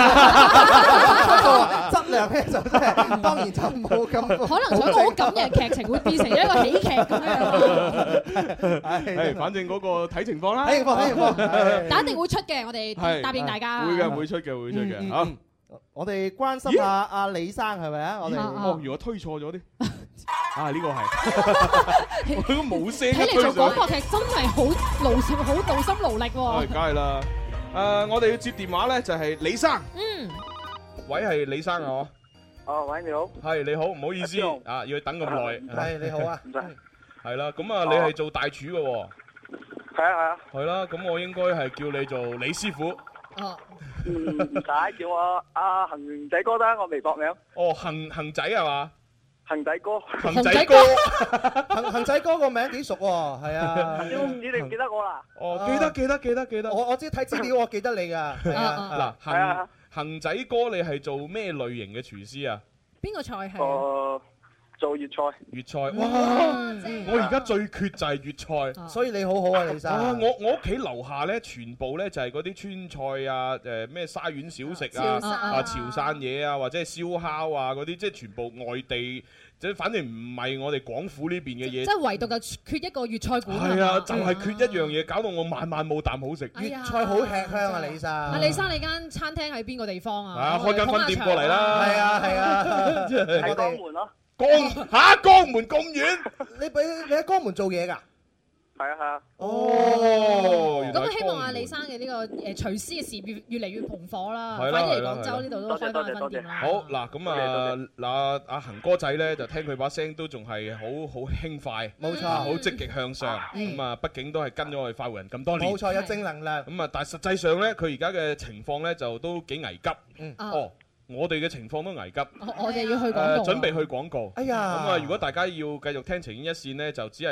質量咧就真係當然就冇咁。 可能想好感人劇情會變成一個喜劇咁樣。 係，反正嗰個睇情況啦。 睇情況， 但一定會出嘅，我哋答應大家。 會出嘅。好， 我哋關心下阿李生係咪啊？我哋如果推錯咗啲。呢個係，我都冇聲。 睇嚟做廣播劇真係好勞心勞力喎。 梗係啦，我哋要接電話咧，就係李生。喂，係李生啊？ 喂，你好。 係你好，唔好意思要等咁耐。 係你好啊，唔使。 係啦，咁啊，你係做大廚嘅喎。 係啊。 係啦，咁我應該係叫你做李師傅。 唔使叫我阿恒仔哥啦，我微博名。 恒仔係嘛？ 恒仔哥， 恒仔哥， 恒仔哥個名幾熟喎，係啊。 唔知你唔記得我啦？ 記得。 我知睇資料，我記得你㗎。 嗱，恒仔哥，你係做咩類型嘅廚師啊？ 邊個菜係？ 做粵菜。 粵菜，哇！我而家最缺就係粵菜， 所以你好好啊，李生。 我屋企樓下咧，全部咧就係嗰啲川菜啊，咩沙縣小食啊，潮汕嘢啊，或者係燒烤啊嗰啲，即係全部外地，即係反正唔係我哋廣府呢邊嘅嘢。 即係唯獨就缺一個粵菜館。 係啊，就係缺一樣嘢，搞到我晚晚冇啖好食。 粵菜好吃香啊，李生。 李生，你間餐廳喺邊個地方啊？ 開間分店過嚟啦。 係啊。 喺江門咯。 江門咁遠， 你喺江門做嘢㗎？ 係啊。 咁希望阿李生嘅呢個廚師嘅事業越嚟越蓬火啦，快啲嚟廣州呢度都開翻個分店啦。 好嗱，咁阿恒哥仔咧，就聽佢把聲都仲係好輕快， 冇錯， 好積極向上。咁啊，畢竟都係跟咗我哋快活人咁多年， 冇錯，有正能量。 咁啊，但係實際上咧，佢而家嘅情況咧就都幾危急。我哋嘅情況都危急， 我哋要去廣告， 準備去廣告。 哎呀！ 咁啊，如果大家要繼續聽情牽一線呢，就只係得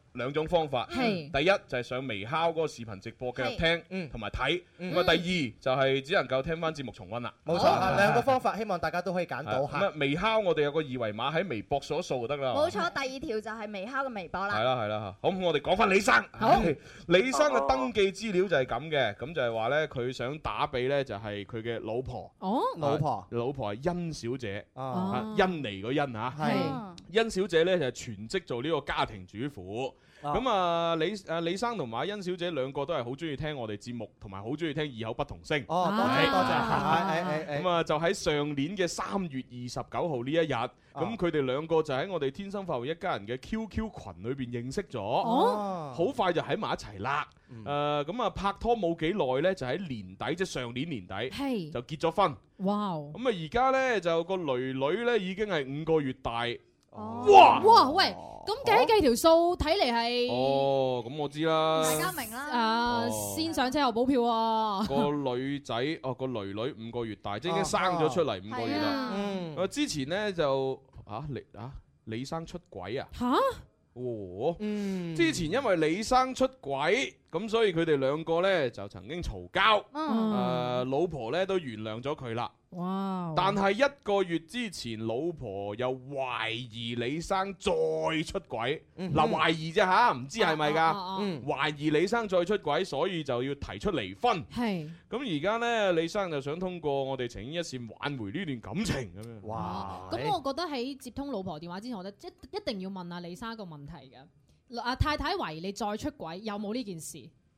兩種方法。 係第一就係上微烤嗰個視頻直播繼續聽同埋睇。咁啊，第二就係只能夠聽翻節目重溫啦。 冇錯，兩個方法，希望大家都可以揀到。 咁啊，微烤我哋有個二維碼喺微博掃一掃就得啦。 冇錯，第二條就係微烤嘅微博啦。 係啦係啦，好，我哋講翻李生。 好， 李生嘅登記資料就係咁嘅，咁就係話咧，佢想打俾咧就係佢嘅老婆。 哦，老婆係甄小姐。 哦， 甄妮個甄嚇。 係。 甄小姐咧就係全職做呢個家庭主婦。咁啊，李生同埋甄小姐兩個都係好中意聽我哋節目，同埋好中意聽異口不同聲。 哦，多謝。 咁啊，就喺上年嘅3月29號呢一日，咁佢哋兩個就喺我哋天生快活一家人嘅 QQ 群裏邊認識咗。哦，好快就喺埋一齊啦。咁啊，拍拖冇幾耐咧，就喺年底，即係上年年底，就結咗婚。 哇！ 咁啊，而家咧就個女女咧已經係5個月大。 哇！喂，咁計條數，睇嚟係咁我知啦。 大家明啦。 先上車後補票喎。 個女仔個女女5個月大，即係已經生咗出嚟5個月啦。之前咧就李生出軌啊。嚇！之前因為李生出軌，咁所以佢哋兩個咧就曾經嘈交。老婆咧都原諒咗佢啦。 哇！ 但係1個月之前，老婆又懷疑李生再出軌。懷疑啫嚇，唔知係咪㗎？懷疑李生再出軌，所以就要提出離婚。 係。 咁而家呢，李生就想通過我哋情牽一線挽回呢段感情咁樣。 哇！ 咁我覺得喺接通老婆電話之前，我覺得一定要問下李生一個問題嘅。太太懷疑你再出軌，有冇呢件事？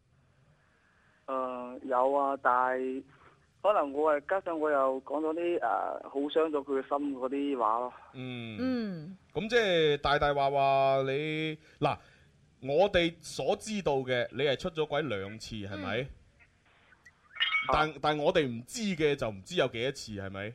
有啊，但係可能我係加上我又講咗啲好傷咗佢嘅心嗰啲話咯。 咁即係大話你嗱，我哋所知道嘅，你係出咗軌2次係咪？但我哋唔知嘅就唔知有幾多次係咪？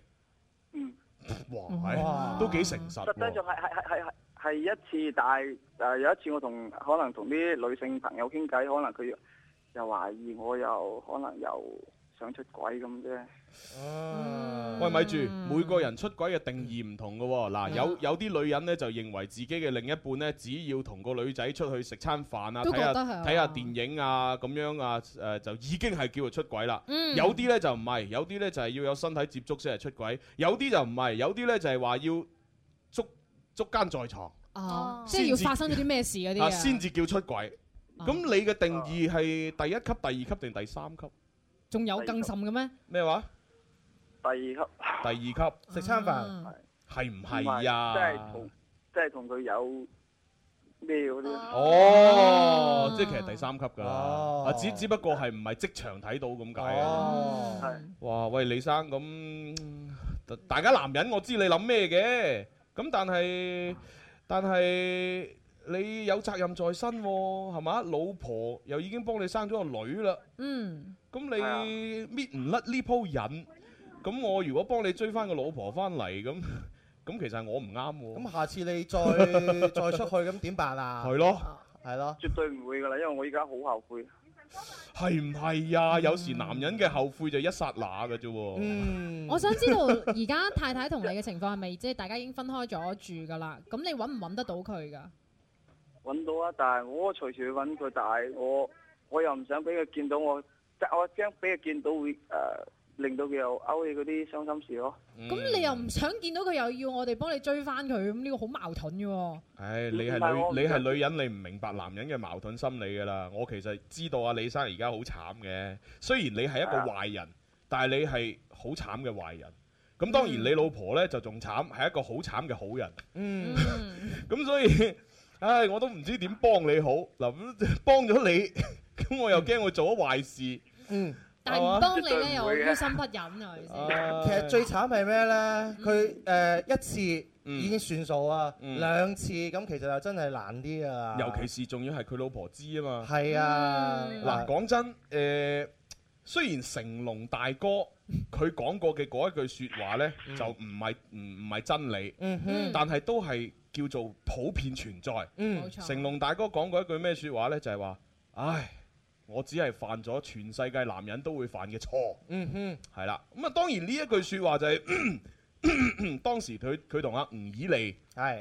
哇，都幾誠實。 實際上係一次，但係有一次我可能同啲女性朋友傾偈，可能佢又懷疑我，又可能又想出軌咁啫。 喂，咪住，每個人出軌嘅定義唔同嘅喎。嗱，有啲女人呢就認為自己嘅另一半呢，只要同個女仔出去食餐飯啊，睇下電影啊，咁樣啊，就已經係叫做出軌啦。有啲呢就唔係，有啲呢就係要有身體接觸先係出軌，有啲就唔係，有啲呢就係話要捉姦在床。 即係要發生咗啲咩事嗰啲啊， 先至叫出軌。咁你嘅定義係第1級、第2級定第3級？ 仲有更甚嘅咩？ 咩話？ 第2級。 第2級食餐飯係唔係啊？ 即係同佢有咩嗰啲？ 即係其實第3級㗎啦。只不過係唔係即場睇到咁解。哇！喂，李生咁，大家男人我知你諗咩嘅，咁但係。你有責任在身喎，係嘛？老婆又已經幫你生咗個女啦。咁你搣唔甩呢鋪癮，咁我如果幫你追翻個老婆翻嚟，咁其實我唔啱喎。 咁下次你再出去，咁點辦啊？ 係咯， 絕對唔會㗎啦，因為我依家好後悔。 係唔係呀？有時男人嘅後悔就一剎那嘅啫喎。 我想知道而家太太同你嘅情況係咪即係大家已經分開咗住㗎啦？咁你揾唔揾得到佢㗎？ 揾到啊，但係我隨時去揾佢，但係我又唔想俾佢見到我驚俾佢見到會令到佢又勾起嗰啲傷心事咯。 咁你又唔想見到佢，又要我哋幫你追翻佢，咁呢個好矛盾嘅喎。 你係女人，你唔明白男人嘅矛盾心理㗎啦。我其實知道啊，李生而家好慘嘅。雖然你係一個壞人，但係你係好慘嘅壞人。咁當然你老婆呢就仲慘，係一個好慘嘅好人。咁所以。我都唔知點幫你好嗱，幫咗你，咁我又驚我做咗壞事。 但係唔幫你咧，又於心不忍啊！ 其實最慘係咩咧？佢1次已經算數啊，2次咁其實就真係難啲啊。 尤其是仲要係佢老婆知啊嘛。 係啊， 嗱講真，雖然成龍大哥佢講過嘅嗰一句説話咧，就唔係真理，但係都係叫做普遍存在。成龍大哥講過一句咩説話呢？就係話：唉，我只係犯咗全世界男人都會犯嘅錯。係啦。咁啊，當然呢一句説話就係當時佢同阿吳綺莉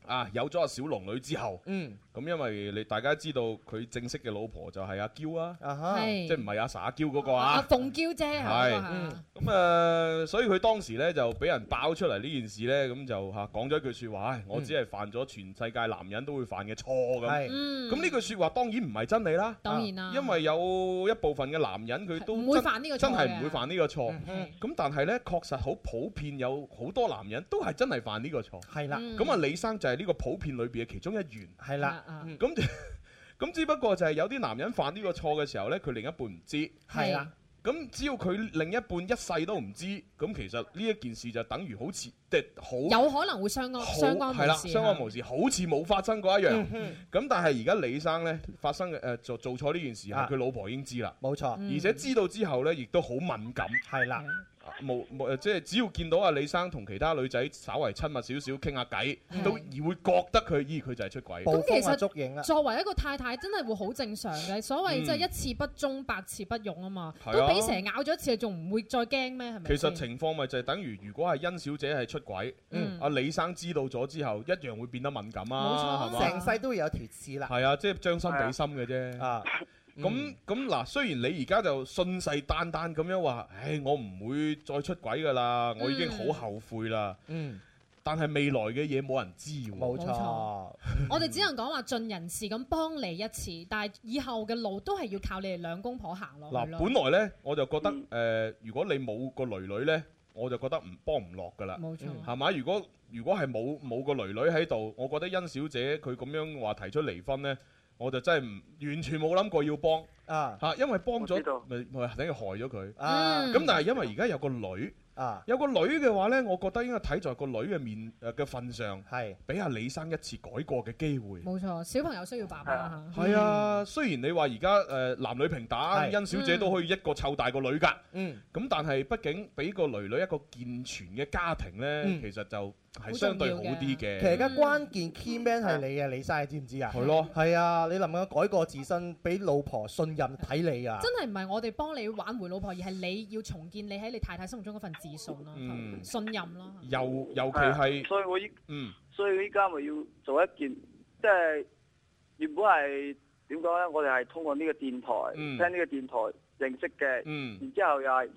有咗阿小龍女之後，咁因為你大家知道佢正式嘅老婆就係阿嬌啊，即係唔係阿 sa 嬌嗰個啊？ 阿鳳嬌姐係咁所以佢當時咧就俾人爆出嚟呢件事咧，咁就講咗一句説話，我只係犯咗全世界男人都會犯嘅錯咁。咁呢句説話當然唔係真理啦， 當然啦， 因為有一部分嘅男人佢都唔會犯呢個錯， 真係唔會犯呢個錯。咁但係咧確實好普遍，有好多男人都係真係犯呢個錯。 係啦， 咁啊李生就係呢個普遍裏邊嘅其中一員。 係啦， 咁只不過就係有啲男人犯呢個錯嘅時候呢，佢另一半唔知。 係啦。 咁只要佢另一半一世都唔知，咁其實呢一件事就等於好似好有可能會相安無事。 係啦，相安無事，好似冇發生過一樣。咁但係而家李生呢，發生嘅做錯呢件事，佢老婆已經知啦。 冇錯。 而且知道之後呢，亦都好敏感。 係啦。 即係只要見到阿李生同其他女仔稍為親密少少傾下偈，都會覺得佢就係出軌。 咁其實作為一個太太，真係會好正常嘅。所謂即係一次不忠，百次不用啊嘛。都俾蛇咬咗一次，仲唔會再驚咩？係咪？ 其實情況咪就係等於，如果係甄小姐係出軌，阿李生知道咗之後，一樣會變得敏感啊，係嘛？ 成世都會有條刺啦。 係啊，即係將心比心嘅啫。咁嗱，雖然你而家就信誓旦旦咁樣話，我唔會再出軌㗎啦，我已經好後悔啦。但係未來嘅嘢冇人知喎。 冇錯， 我哋只能講話盡人事咁幫你一次，但係以後嘅路都係要靠你哋兩公婆行落去咯。 本來呢，我就覺得如果你冇個女女呢，我就覺得幫唔落㗎啦。 冇錯， 係嘛？如果係冇個女女喺度，我覺得甄小姐佢咁樣話提出離婚呢，我就真係完全冇諗過要幫因為幫咗咪等於害咗佢。咁但係因為而家有個女。有個女嘅話呢，我覺得應該睇在個女嘅嘅份上，係俾阿李生一次改過嘅機會。 冇錯，小朋友需要爸爸。 係啊，雖然你話而家男女平等，甄小姐都可以一個湊大個女㗎。咁但係畢竟俾個女女一個健全嘅家庭呢，其實就係相對好啲嘅。 其實而家關鍵 key man 係你嘅李生，你知唔知啊？ 係咯， 係啊，你能唔能夠改過自身，俾老婆信任睇你啊？ 真係唔係我哋幫你挽回老婆，而係你要重建你喺你太太心目中嗰份自信咯，信任咯。 尤其係， 所以我依家咪要做一件，即係原本係點講咧？我哋係通過呢個電台聽呢個電台認識嘅，然之後又係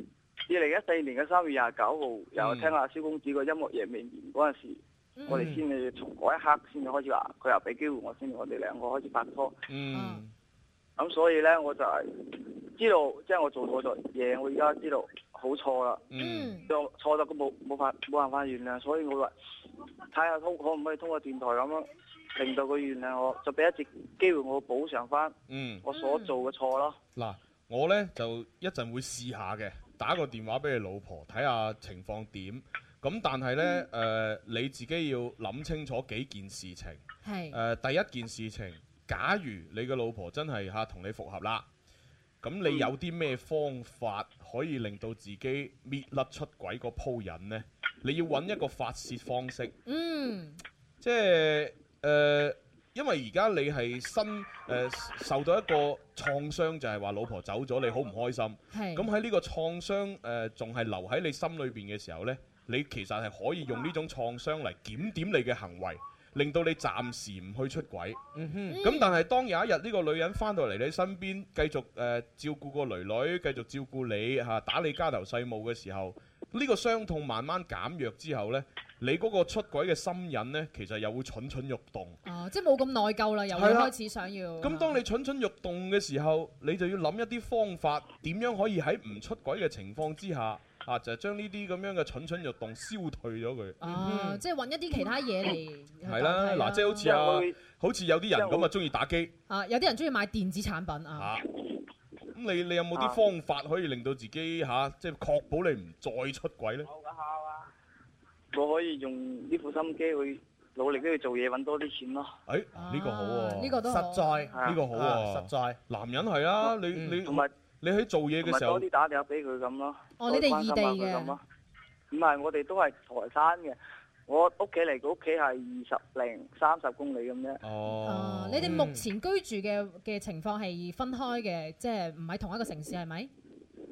2014年嘅3月29號，又聽阿蕭公子個音樂夜未眠嗰陣時，我哋先至從嗰一刻先至開始話，佢又俾機會我先，我哋兩個開始拍拖。咁所以咧，我就係知道，即係我做錯咗嘢，我而家知道好錯啦。就錯咗，冇辦法原諒，所以我話睇下可唔可以通過電台咁樣令到佢原諒我，就俾一次機會我補償翻我所做嘅錯咯。 嗱，我咧就一陣會試下嘅，打個電話俾你老婆睇下情況點。咁但係咧你自己要諗清楚幾件事情。係第一件事情。假如你嘅老婆真係同你復合啦，咁你有啲咩方法可以令到自己搣甩出軌個鋪癮呢？你要揾一個發泄方式。即係因為而家你係受到一個創傷，就係話老婆走咗，你好唔開心。咁喺呢個創傷仲係留喺你心裏邊嘅時候呢，你其實係可以用呢種創傷嚟檢點你嘅行為。令到你暫時唔去出軌，咁但係當有一日呢個女人翻到嚟你身邊，繼續照顧個女女，繼續照顧你打理家頭細務嘅時候，呢個傷痛慢慢減弱之後呢，你嗰個出軌嘅心癮呢，其實又會蠢蠢欲動。 即係冇咁內疚啦，又會開始想要。 咁當你蠢蠢欲動嘅時候，你就要諗一啲方法，點樣可以喺唔出軌嘅情況之下。就係將呢啲咁樣嘅蠢蠢欲動消退咗佢。即係揾一啲其他嘢嚟。係啦，嗱，即係好似有啲人咁中意打機。 有啲人中意買電子產品啊。 咁你有冇啲方法可以令到自己即係確保你唔再出軌呢？ 我可以用呢副心機去努力去做嘢，揾多啲錢咯。 呢個好喎。 呢個都實在， 呢個好喎。 實在， 男人係啊，你同埋。 你喺做嘢嘅時候， 多啲打電話俾佢咁咯。 你哋異地嘅？ 唔係，我哋都係台山嘅。我屋企嚟，佢屋企係20-30公里咁啫。 你哋目前居住嘅情況係分開嘅，即係唔喺同一個城市係咪？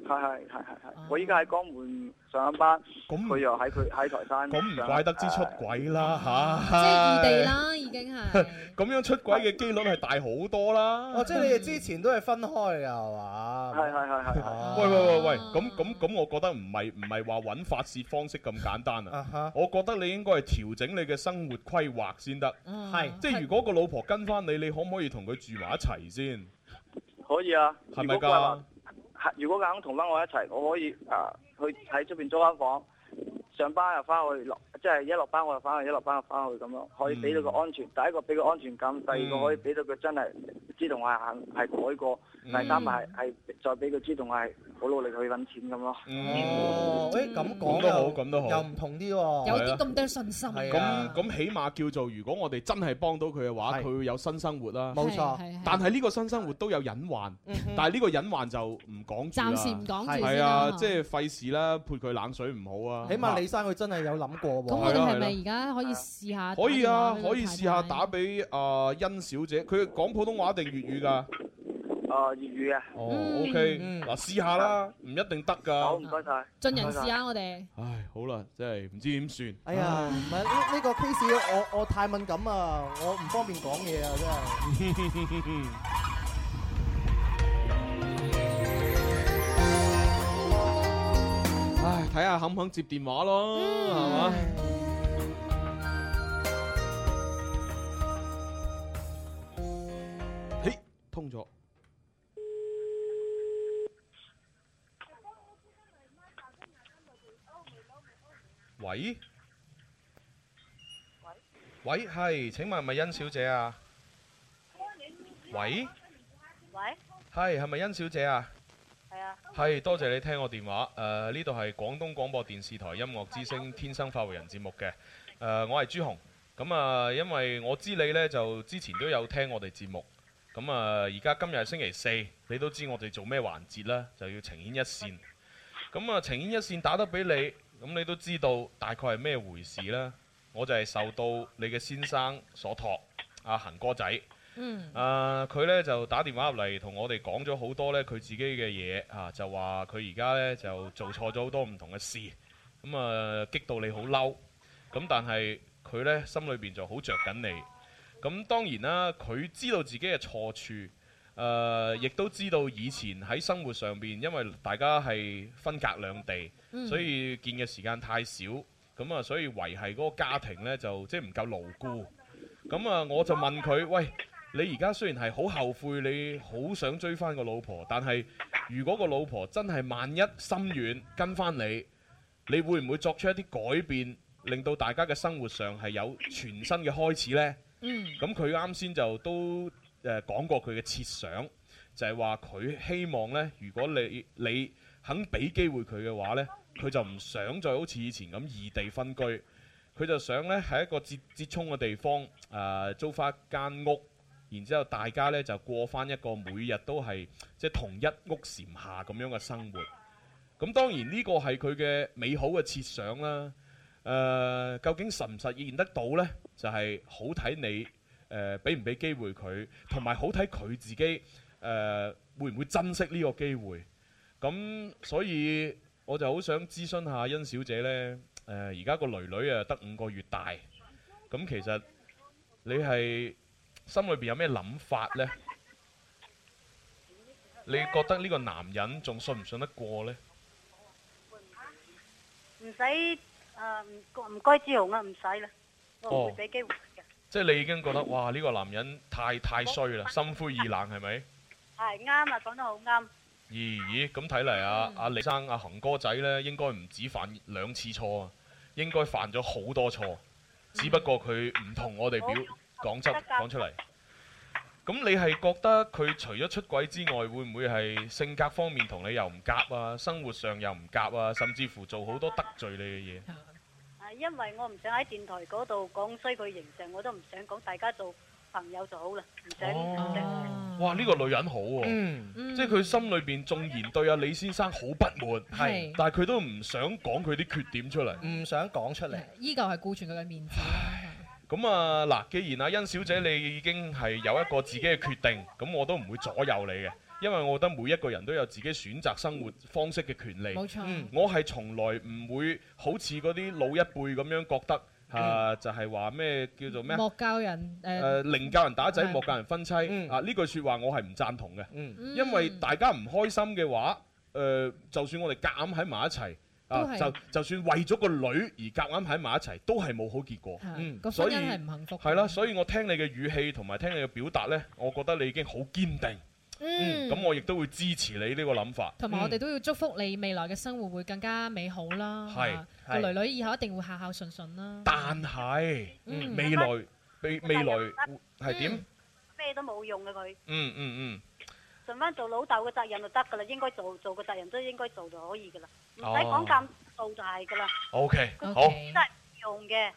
係，我依家喺江門上緊班，佢又喺台山。 咁唔怪得之出軌啦嚇！ 即係異地啦，已經係。 咁樣出軌嘅機率係大好多啦。 哦，即係你哋之前都係分開㗎係嘛？ 係。 喂，咁，我覺得唔係話揾發泄方式咁簡單啊！我覺得你應該係調整你嘅生活規劃先得。 係， 即係如果個老婆跟翻你，你可唔可以同佢住埋一齊先？ 可以啊。 係咪㗎？ 如果佢肯同翻我一齊，我可以去喺出邊租間房，上班又翻去，即係一落班我就翻去，一落班就翻去咁樣，可以俾到個安全。第一個俾個安全感，第二個可以俾到佢真係知道我係改過，第三係再俾佢知道我係好努力去揾錢咁咯。 咁講咁都好， 又唔同啲喎， 有啲咁多信心。 咁起碼叫做，如果我哋真係幫到佢嘅話，佢會有新生活啦。 冇錯， 但係呢個新生活都有隱患，但係呢個隱患就唔講住啦。 暫時唔講住。 係啊，即係費事啦，潑佢冷水唔好啊。 起碼李生佢真係有諗過喎。 咁我哋係咪而家可以試下？ 可以啊，可以試下打俾甄小姐。佢講普通話定粵語㗎？ 粵語啊。 OK，嗱試下啦，唔一定得㗎。 好，唔該晒。 盡人試下我哋。 唉，好啦，真係唔知點算。 哎呀，唔係呢個 case，我太敏感啊，我唔方便講嘢啊，真係。 唉，睇下肯唔肯接電話咯，係嘛？嘿，通咗。喂，係，請問係咪甄小姐啊？喂，係咪甄小姐啊？係，多謝你聽我電話。呢度係廣東廣播電視台音樂之聲天生快活人節目嘅。我係朱紅。咁因為我知你呢，就之前都有聽我哋節目。咁而家今日係星期四，你都知我哋做咩環節啦，就要情牽一線。咁情牽一線打得俾你，咁你都知道大概係咩回事啦。我就係受到你嘅先生所託，阿恒哥仔。佢呢就打電話入嚟同我哋講咗好多呢佢自己嘅嘢啊，就話佢而家呢就做錯咗好多唔同嘅事，咁激到你好嬲，咁但係佢呢心裏邊就好着緊你，咁當然啦，佢知道自己嘅錯處，亦都知道以前喺生活上邊，因為大家係分隔兩地，所以見嘅時間太少，咁所以維繫嗰個家庭呢，就即係唔夠牢固，咁我就問佢，喂，你而家雖然係好後悔，你好想追翻個老婆，但係如果個老婆真係萬一心軟跟翻你，你會唔會作出一啲改變，令到大家嘅生活上係有全新嘅開始呢？咁佢啱先就都講過佢嘅設想，就係話佢希望呢，如果你肯俾機會佢嘅話呢，佢就唔想再好似以前咁異地分居，佢就想呢，喺一個折衷嘅地方租翻間屋。然之後大家呢就過翻一個每日都係即係同一屋檐下咁樣嘅生活。咁當然呢個係佢嘅美好嘅設想啦。究竟實唔實現得到呢？就係好睇你俾唔俾機會佢，同埋好睇佢自己會唔會珍惜呢個機會。咁所以我就好想諮詢下甄小姐呢。而家個囡囡得5個月大。咁其實你係心裏邊有咩諗法呢？你覺得呢個男人仲信唔信得過呢？ 唔使唔該朱紅啊，唔使啦，我唔會俾機會嘅。 即係你已經覺得哇呢個男人太衰啦，心灰意冷係咪？ 係啱啊，講得好啱。 咦，咁睇嚟阿李生阿恒哥仔呢，應該唔止犯2次錯啊，應該犯咗好多錯，只不過佢唔同我哋講出嚟。咁你係覺得佢除咗出軌之外，會唔會係性格方面同你又唔夾啊？生活上又唔夾啊？甚至乎做好多得罪你嘅嘢？ 因為我唔想喺電台嗰度講衰佢形象，我都唔想講，大家做朋友就好啦，唔想。 哇！呢個女人好喎，即係佢心裏邊縱然對阿李先生好不滿，但係佢都唔想講佢啲缺點出嚟， 唔想講出嚟， 依舊係顧全佢嘅面子。 咁嗱，既然阿甄小姐你已經係有一個自己嘅決定，咁我都唔會左右你嘅。 因為我覺得每一個人都有自己選擇生活方式嘅權利。 冇錯， 我係從來唔會好似嗰啲老一輩咁樣覺得。就係話咩叫做咩？ 莫教人寧教人打仔，莫教人分妻。呢句説話我係唔贊同嘅，因為大家唔開心嘅話，就算我哋夾硬喺埋一齊，就算為咗個女而夾硬喺埋一齊，都係冇好結果。 個婚姻係唔幸福。 係啦，所以我聽你嘅語氣同埋聽你嘅表達呢，我覺得你已經好堅定。咁我亦都會支持你呢個諗法， 同埋我哋都要祝福你未來嘅生活會更加美好啦。 係個女女以後一定會孝孝順順啦。 但係未來係點？ 咩都冇用嘅佢。盡翻做老豆嘅責任就得㗎啦，應該做個責任都應該做就可以㗎啦，唔使講咁做就係㗎啦。 OK，好， 真係用嘅。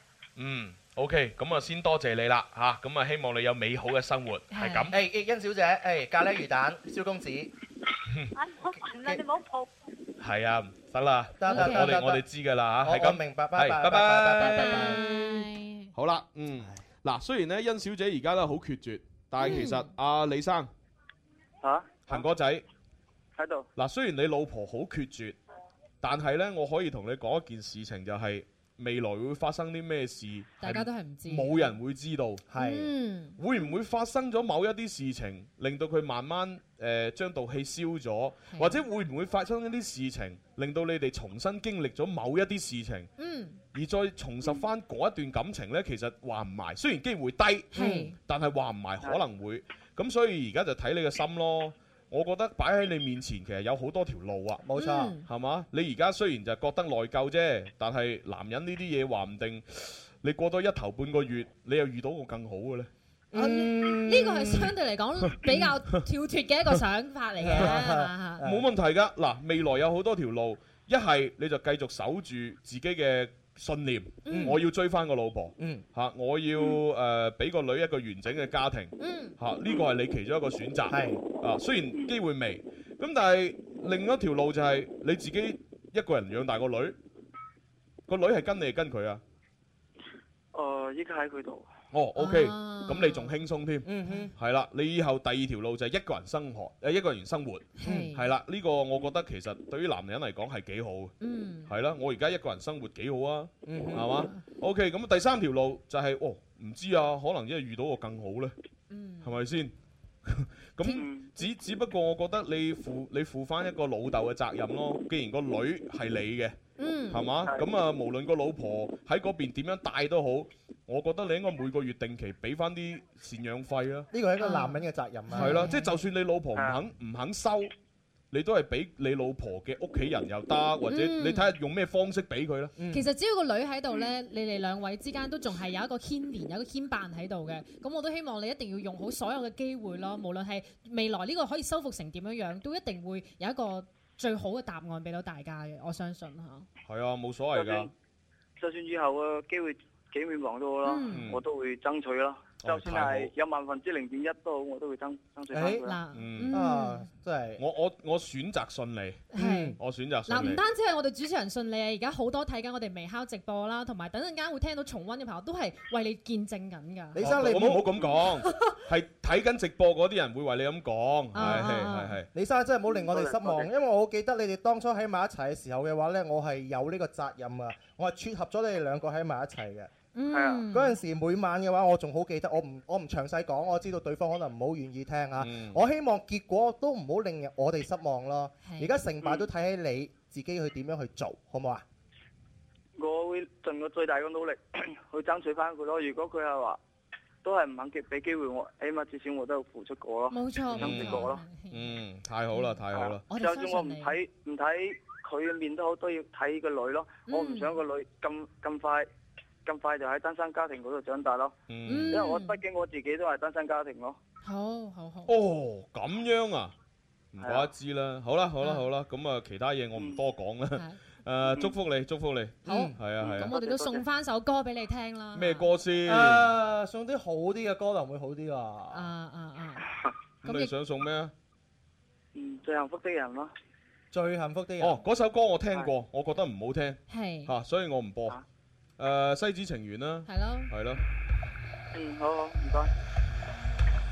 OK， 咁啊先多謝你啦嚇，咁啊希望你有美好嘅生活，係咁。 誒甄小姐，咖喱魚蛋，蕭公子。 好煩啦，你唔好抱。 係啊，得啦， 得我哋知㗎啦嚇，係咁。 明白，拜拜。 拜拜。好啦，嗱，雖然咧甄小姐而家咧好決絕，但係其實阿李生，恒哥仔喺度。 嗱，雖然你老婆好決絕，但係咧我可以同你講一件事情，就係。未來會發生啲咩事？ 大家都係唔知， 冇人會知道。 係會唔會發生咗某一啲事情，令到佢慢慢將道氣消咗？或者會唔會發生一啲事情，令到你哋重新經歷咗某一啲事情？而再重拾翻嗰一段感情呢？其實話唔埋，雖然機會低，但係話唔埋可能會。咁所以而家就睇你嘅心咯。我覺得擺喺你面前其實有好多條路啊， 冇錯， 係嘛？你而家雖然就覺得內疚啫，但係男人呢啲嘢話唔定，你過多一頭半個月，你又遇到個更好嘅呢。 呢個係相對嚟講比較跳脫嘅一個想法嚟嘅， 冇問題㗎。嗱，未來有好多條路，一係你就繼續守住自己嘅信念，我要追翻個老婆，我要俾個女一個完整嘅家庭，呢個係你其中一個選擇。雖然機會微，咁但係另一條路就係你自己一個人養大個女，個女係跟你係跟佢啊？ 依家喺佢度。 OK，咁你仲輕鬆添，係啦。你以後第二條路就係一個人生活，一個人生活，係啦。呢個我覺得其實對於男人嚟講係幾好，係啦。我而家一個人生活幾好啊，係嘛？OK，咁第三條路就係唔知啊，可能因為遇到個更好呢，係咪先？咁只不過我覺得你負翻一個老豆嘅責任咯。既然個女係你嘅，係嘛？咁啊，無論個老婆喺嗰邊點樣帶都好，我覺得你應該每個月定期俾翻啲贍養費啦。 呢個係一個男人嘅責任啊。 係啦，即係就算你老婆唔肯收，你都係俾你老婆嘅屋企人又得，或者你睇下用咩方式俾佢啦。 其實只要個女喺度呢，你哋兩位之間都仲係有一個牽連，有一個牽絆喺度嘅。咁我都希望你一定要用好所有嘅機會咯，無論係未來呢個可以修復成點樣樣，都一定會有一個最好嘅答案俾到大家嘅。我相信嚇。係啊，冇所謂㗎。 就算以後嘅機會幾渺茫都好啦，我都會爭取啦。就算係有0.1%都好，我都會爭取翻佢啦。 真係我選擇信你，我選擇信你。 唔單止係我哋主持人信你啊，而家好多睇緊我哋微烤直播啦，同埋等陣間會聽到重溫嘅朋友都係為你見證緊㗎。 李生，你唔好咁講，係睇緊直播嗰啲人會為你咁講。係。 李生真係唔好令我哋失望，因為我好記得你哋當初喺埋一齊嘅時候嘅話呢，我係有呢個責任啊，我係撮合咗你哋兩個喺埋一齊嘅。嗰陣時每晚嘅話，我仲好記得，我唔詳細講，我知道對方可能唔好願意聽啊。我希望結果都唔好令我哋失望咯。而家成敗都睇喺你自己去點樣去做，好唔好啊？ 我會盡我最大嘅努力去爭取翻佢咯。如果佢係話都係唔肯俾機會我，起碼至少我都有付出過咯。 冇錯， 爭取過咯。 太好啦，太好啦。 就算我唔睇佢嘅面都好，都要睇個女咯。我唔想個女咁快就喺單身家庭嗰度長大咯，因為我畢竟我自己都係單身家庭咯。 好。 咁樣啊，唔怪得知啦。好啦，咁啊，其他嘢我唔多講啦。祝福你。 好，係啊。咁我哋都送翻首歌俾你聽啦。 咩歌先？ 送啲好啲嘅歌，能會好啲啊？ 咁你想送咩啊？ 最幸福的人咯。 最幸福的人。 嗰首歌我聽過，我覺得唔好聽。 係。 所以我唔播。西子情緣啦， 係咯， 好，唔該。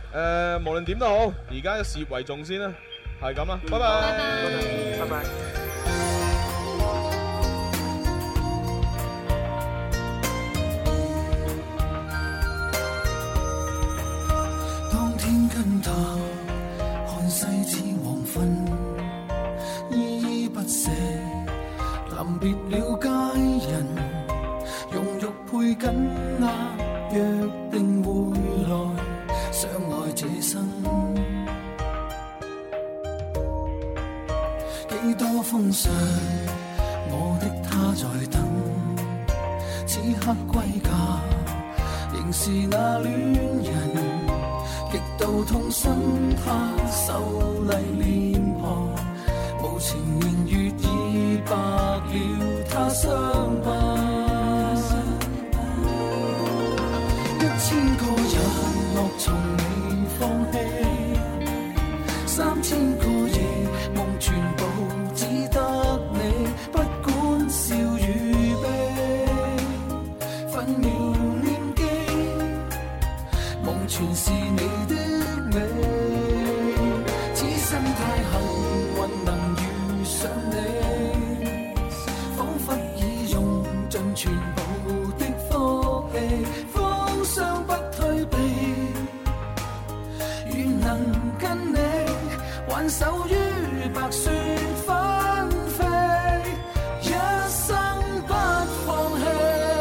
無論點都好，而家事業為重先啦，係咁啦，拜拜， 拜拜。 當天跟他看世似黃昏，依依不捨，臨別了佳人，用玉配緊握，約定會來相愛這生。幾多風霜，我的他在等，此刻歸家，仍是那戀人。極度痛心，他秀麗臉龐，無情言語已白了他傷疤。1000個日落從未放棄，3000個夜夢全部只得你，不管笑與悲，分秒念記，夢全是你的美。此生太幸運能遇上你，彷彿已用盡全部的福氣，風霜不退避，願能跟你挽手於白雪紛飛，一生不放棄。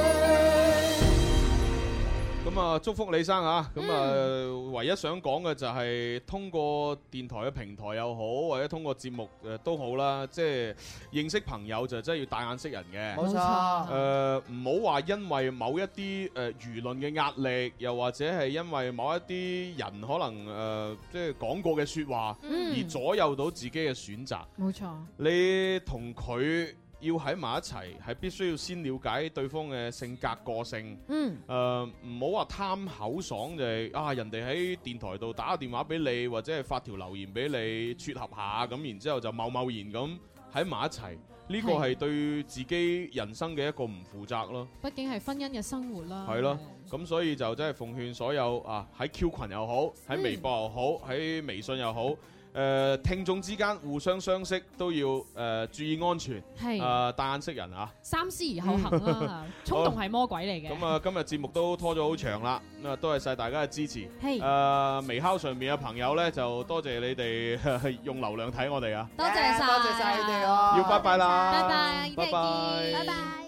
咁啊，祝福李生啊！咁啊，唯一想講嘅就係通過電台嘅平台又好，或者通過節目都好啦，即係認識朋友就真係要帶眼識人嘅。 冇錯。 唔好話因為某一啲輿論嘅壓力，又或者係因為某一啲人可能即係講過嘅説話，而左右到自己嘅選擇。 冇錯。 你同佢要喺埋一齊，係必須要先了解對方嘅性格個性。唔好話貪口爽就係人哋喺電台度打個電話俾你，或者係發條留言俾你撮合下，咁然之後就貿貿然咁喺埋一齊，呢個係對自己人生嘅一個唔負責咯。 畢竟係婚姻嘅生活啦。 係咯，咁所以就真係奉勸所有喺 Q 群又好，喺微博又好，喺微信又好。聽眾之間互相相識都要注意安全，帶眼識人啊！ 三思而後行啦，衝動係魔鬼嚟嘅。 咁啊，今日節目都拖咗好長啦，咁啊，多謝晒大家嘅支持。微敲上面嘅朋友咧，就多謝你哋用流量睇我哋啊！ 多謝晒， 多謝晒你哋啊！ 要拜拜啦！ 拜拜， 拜拜， 拜拜。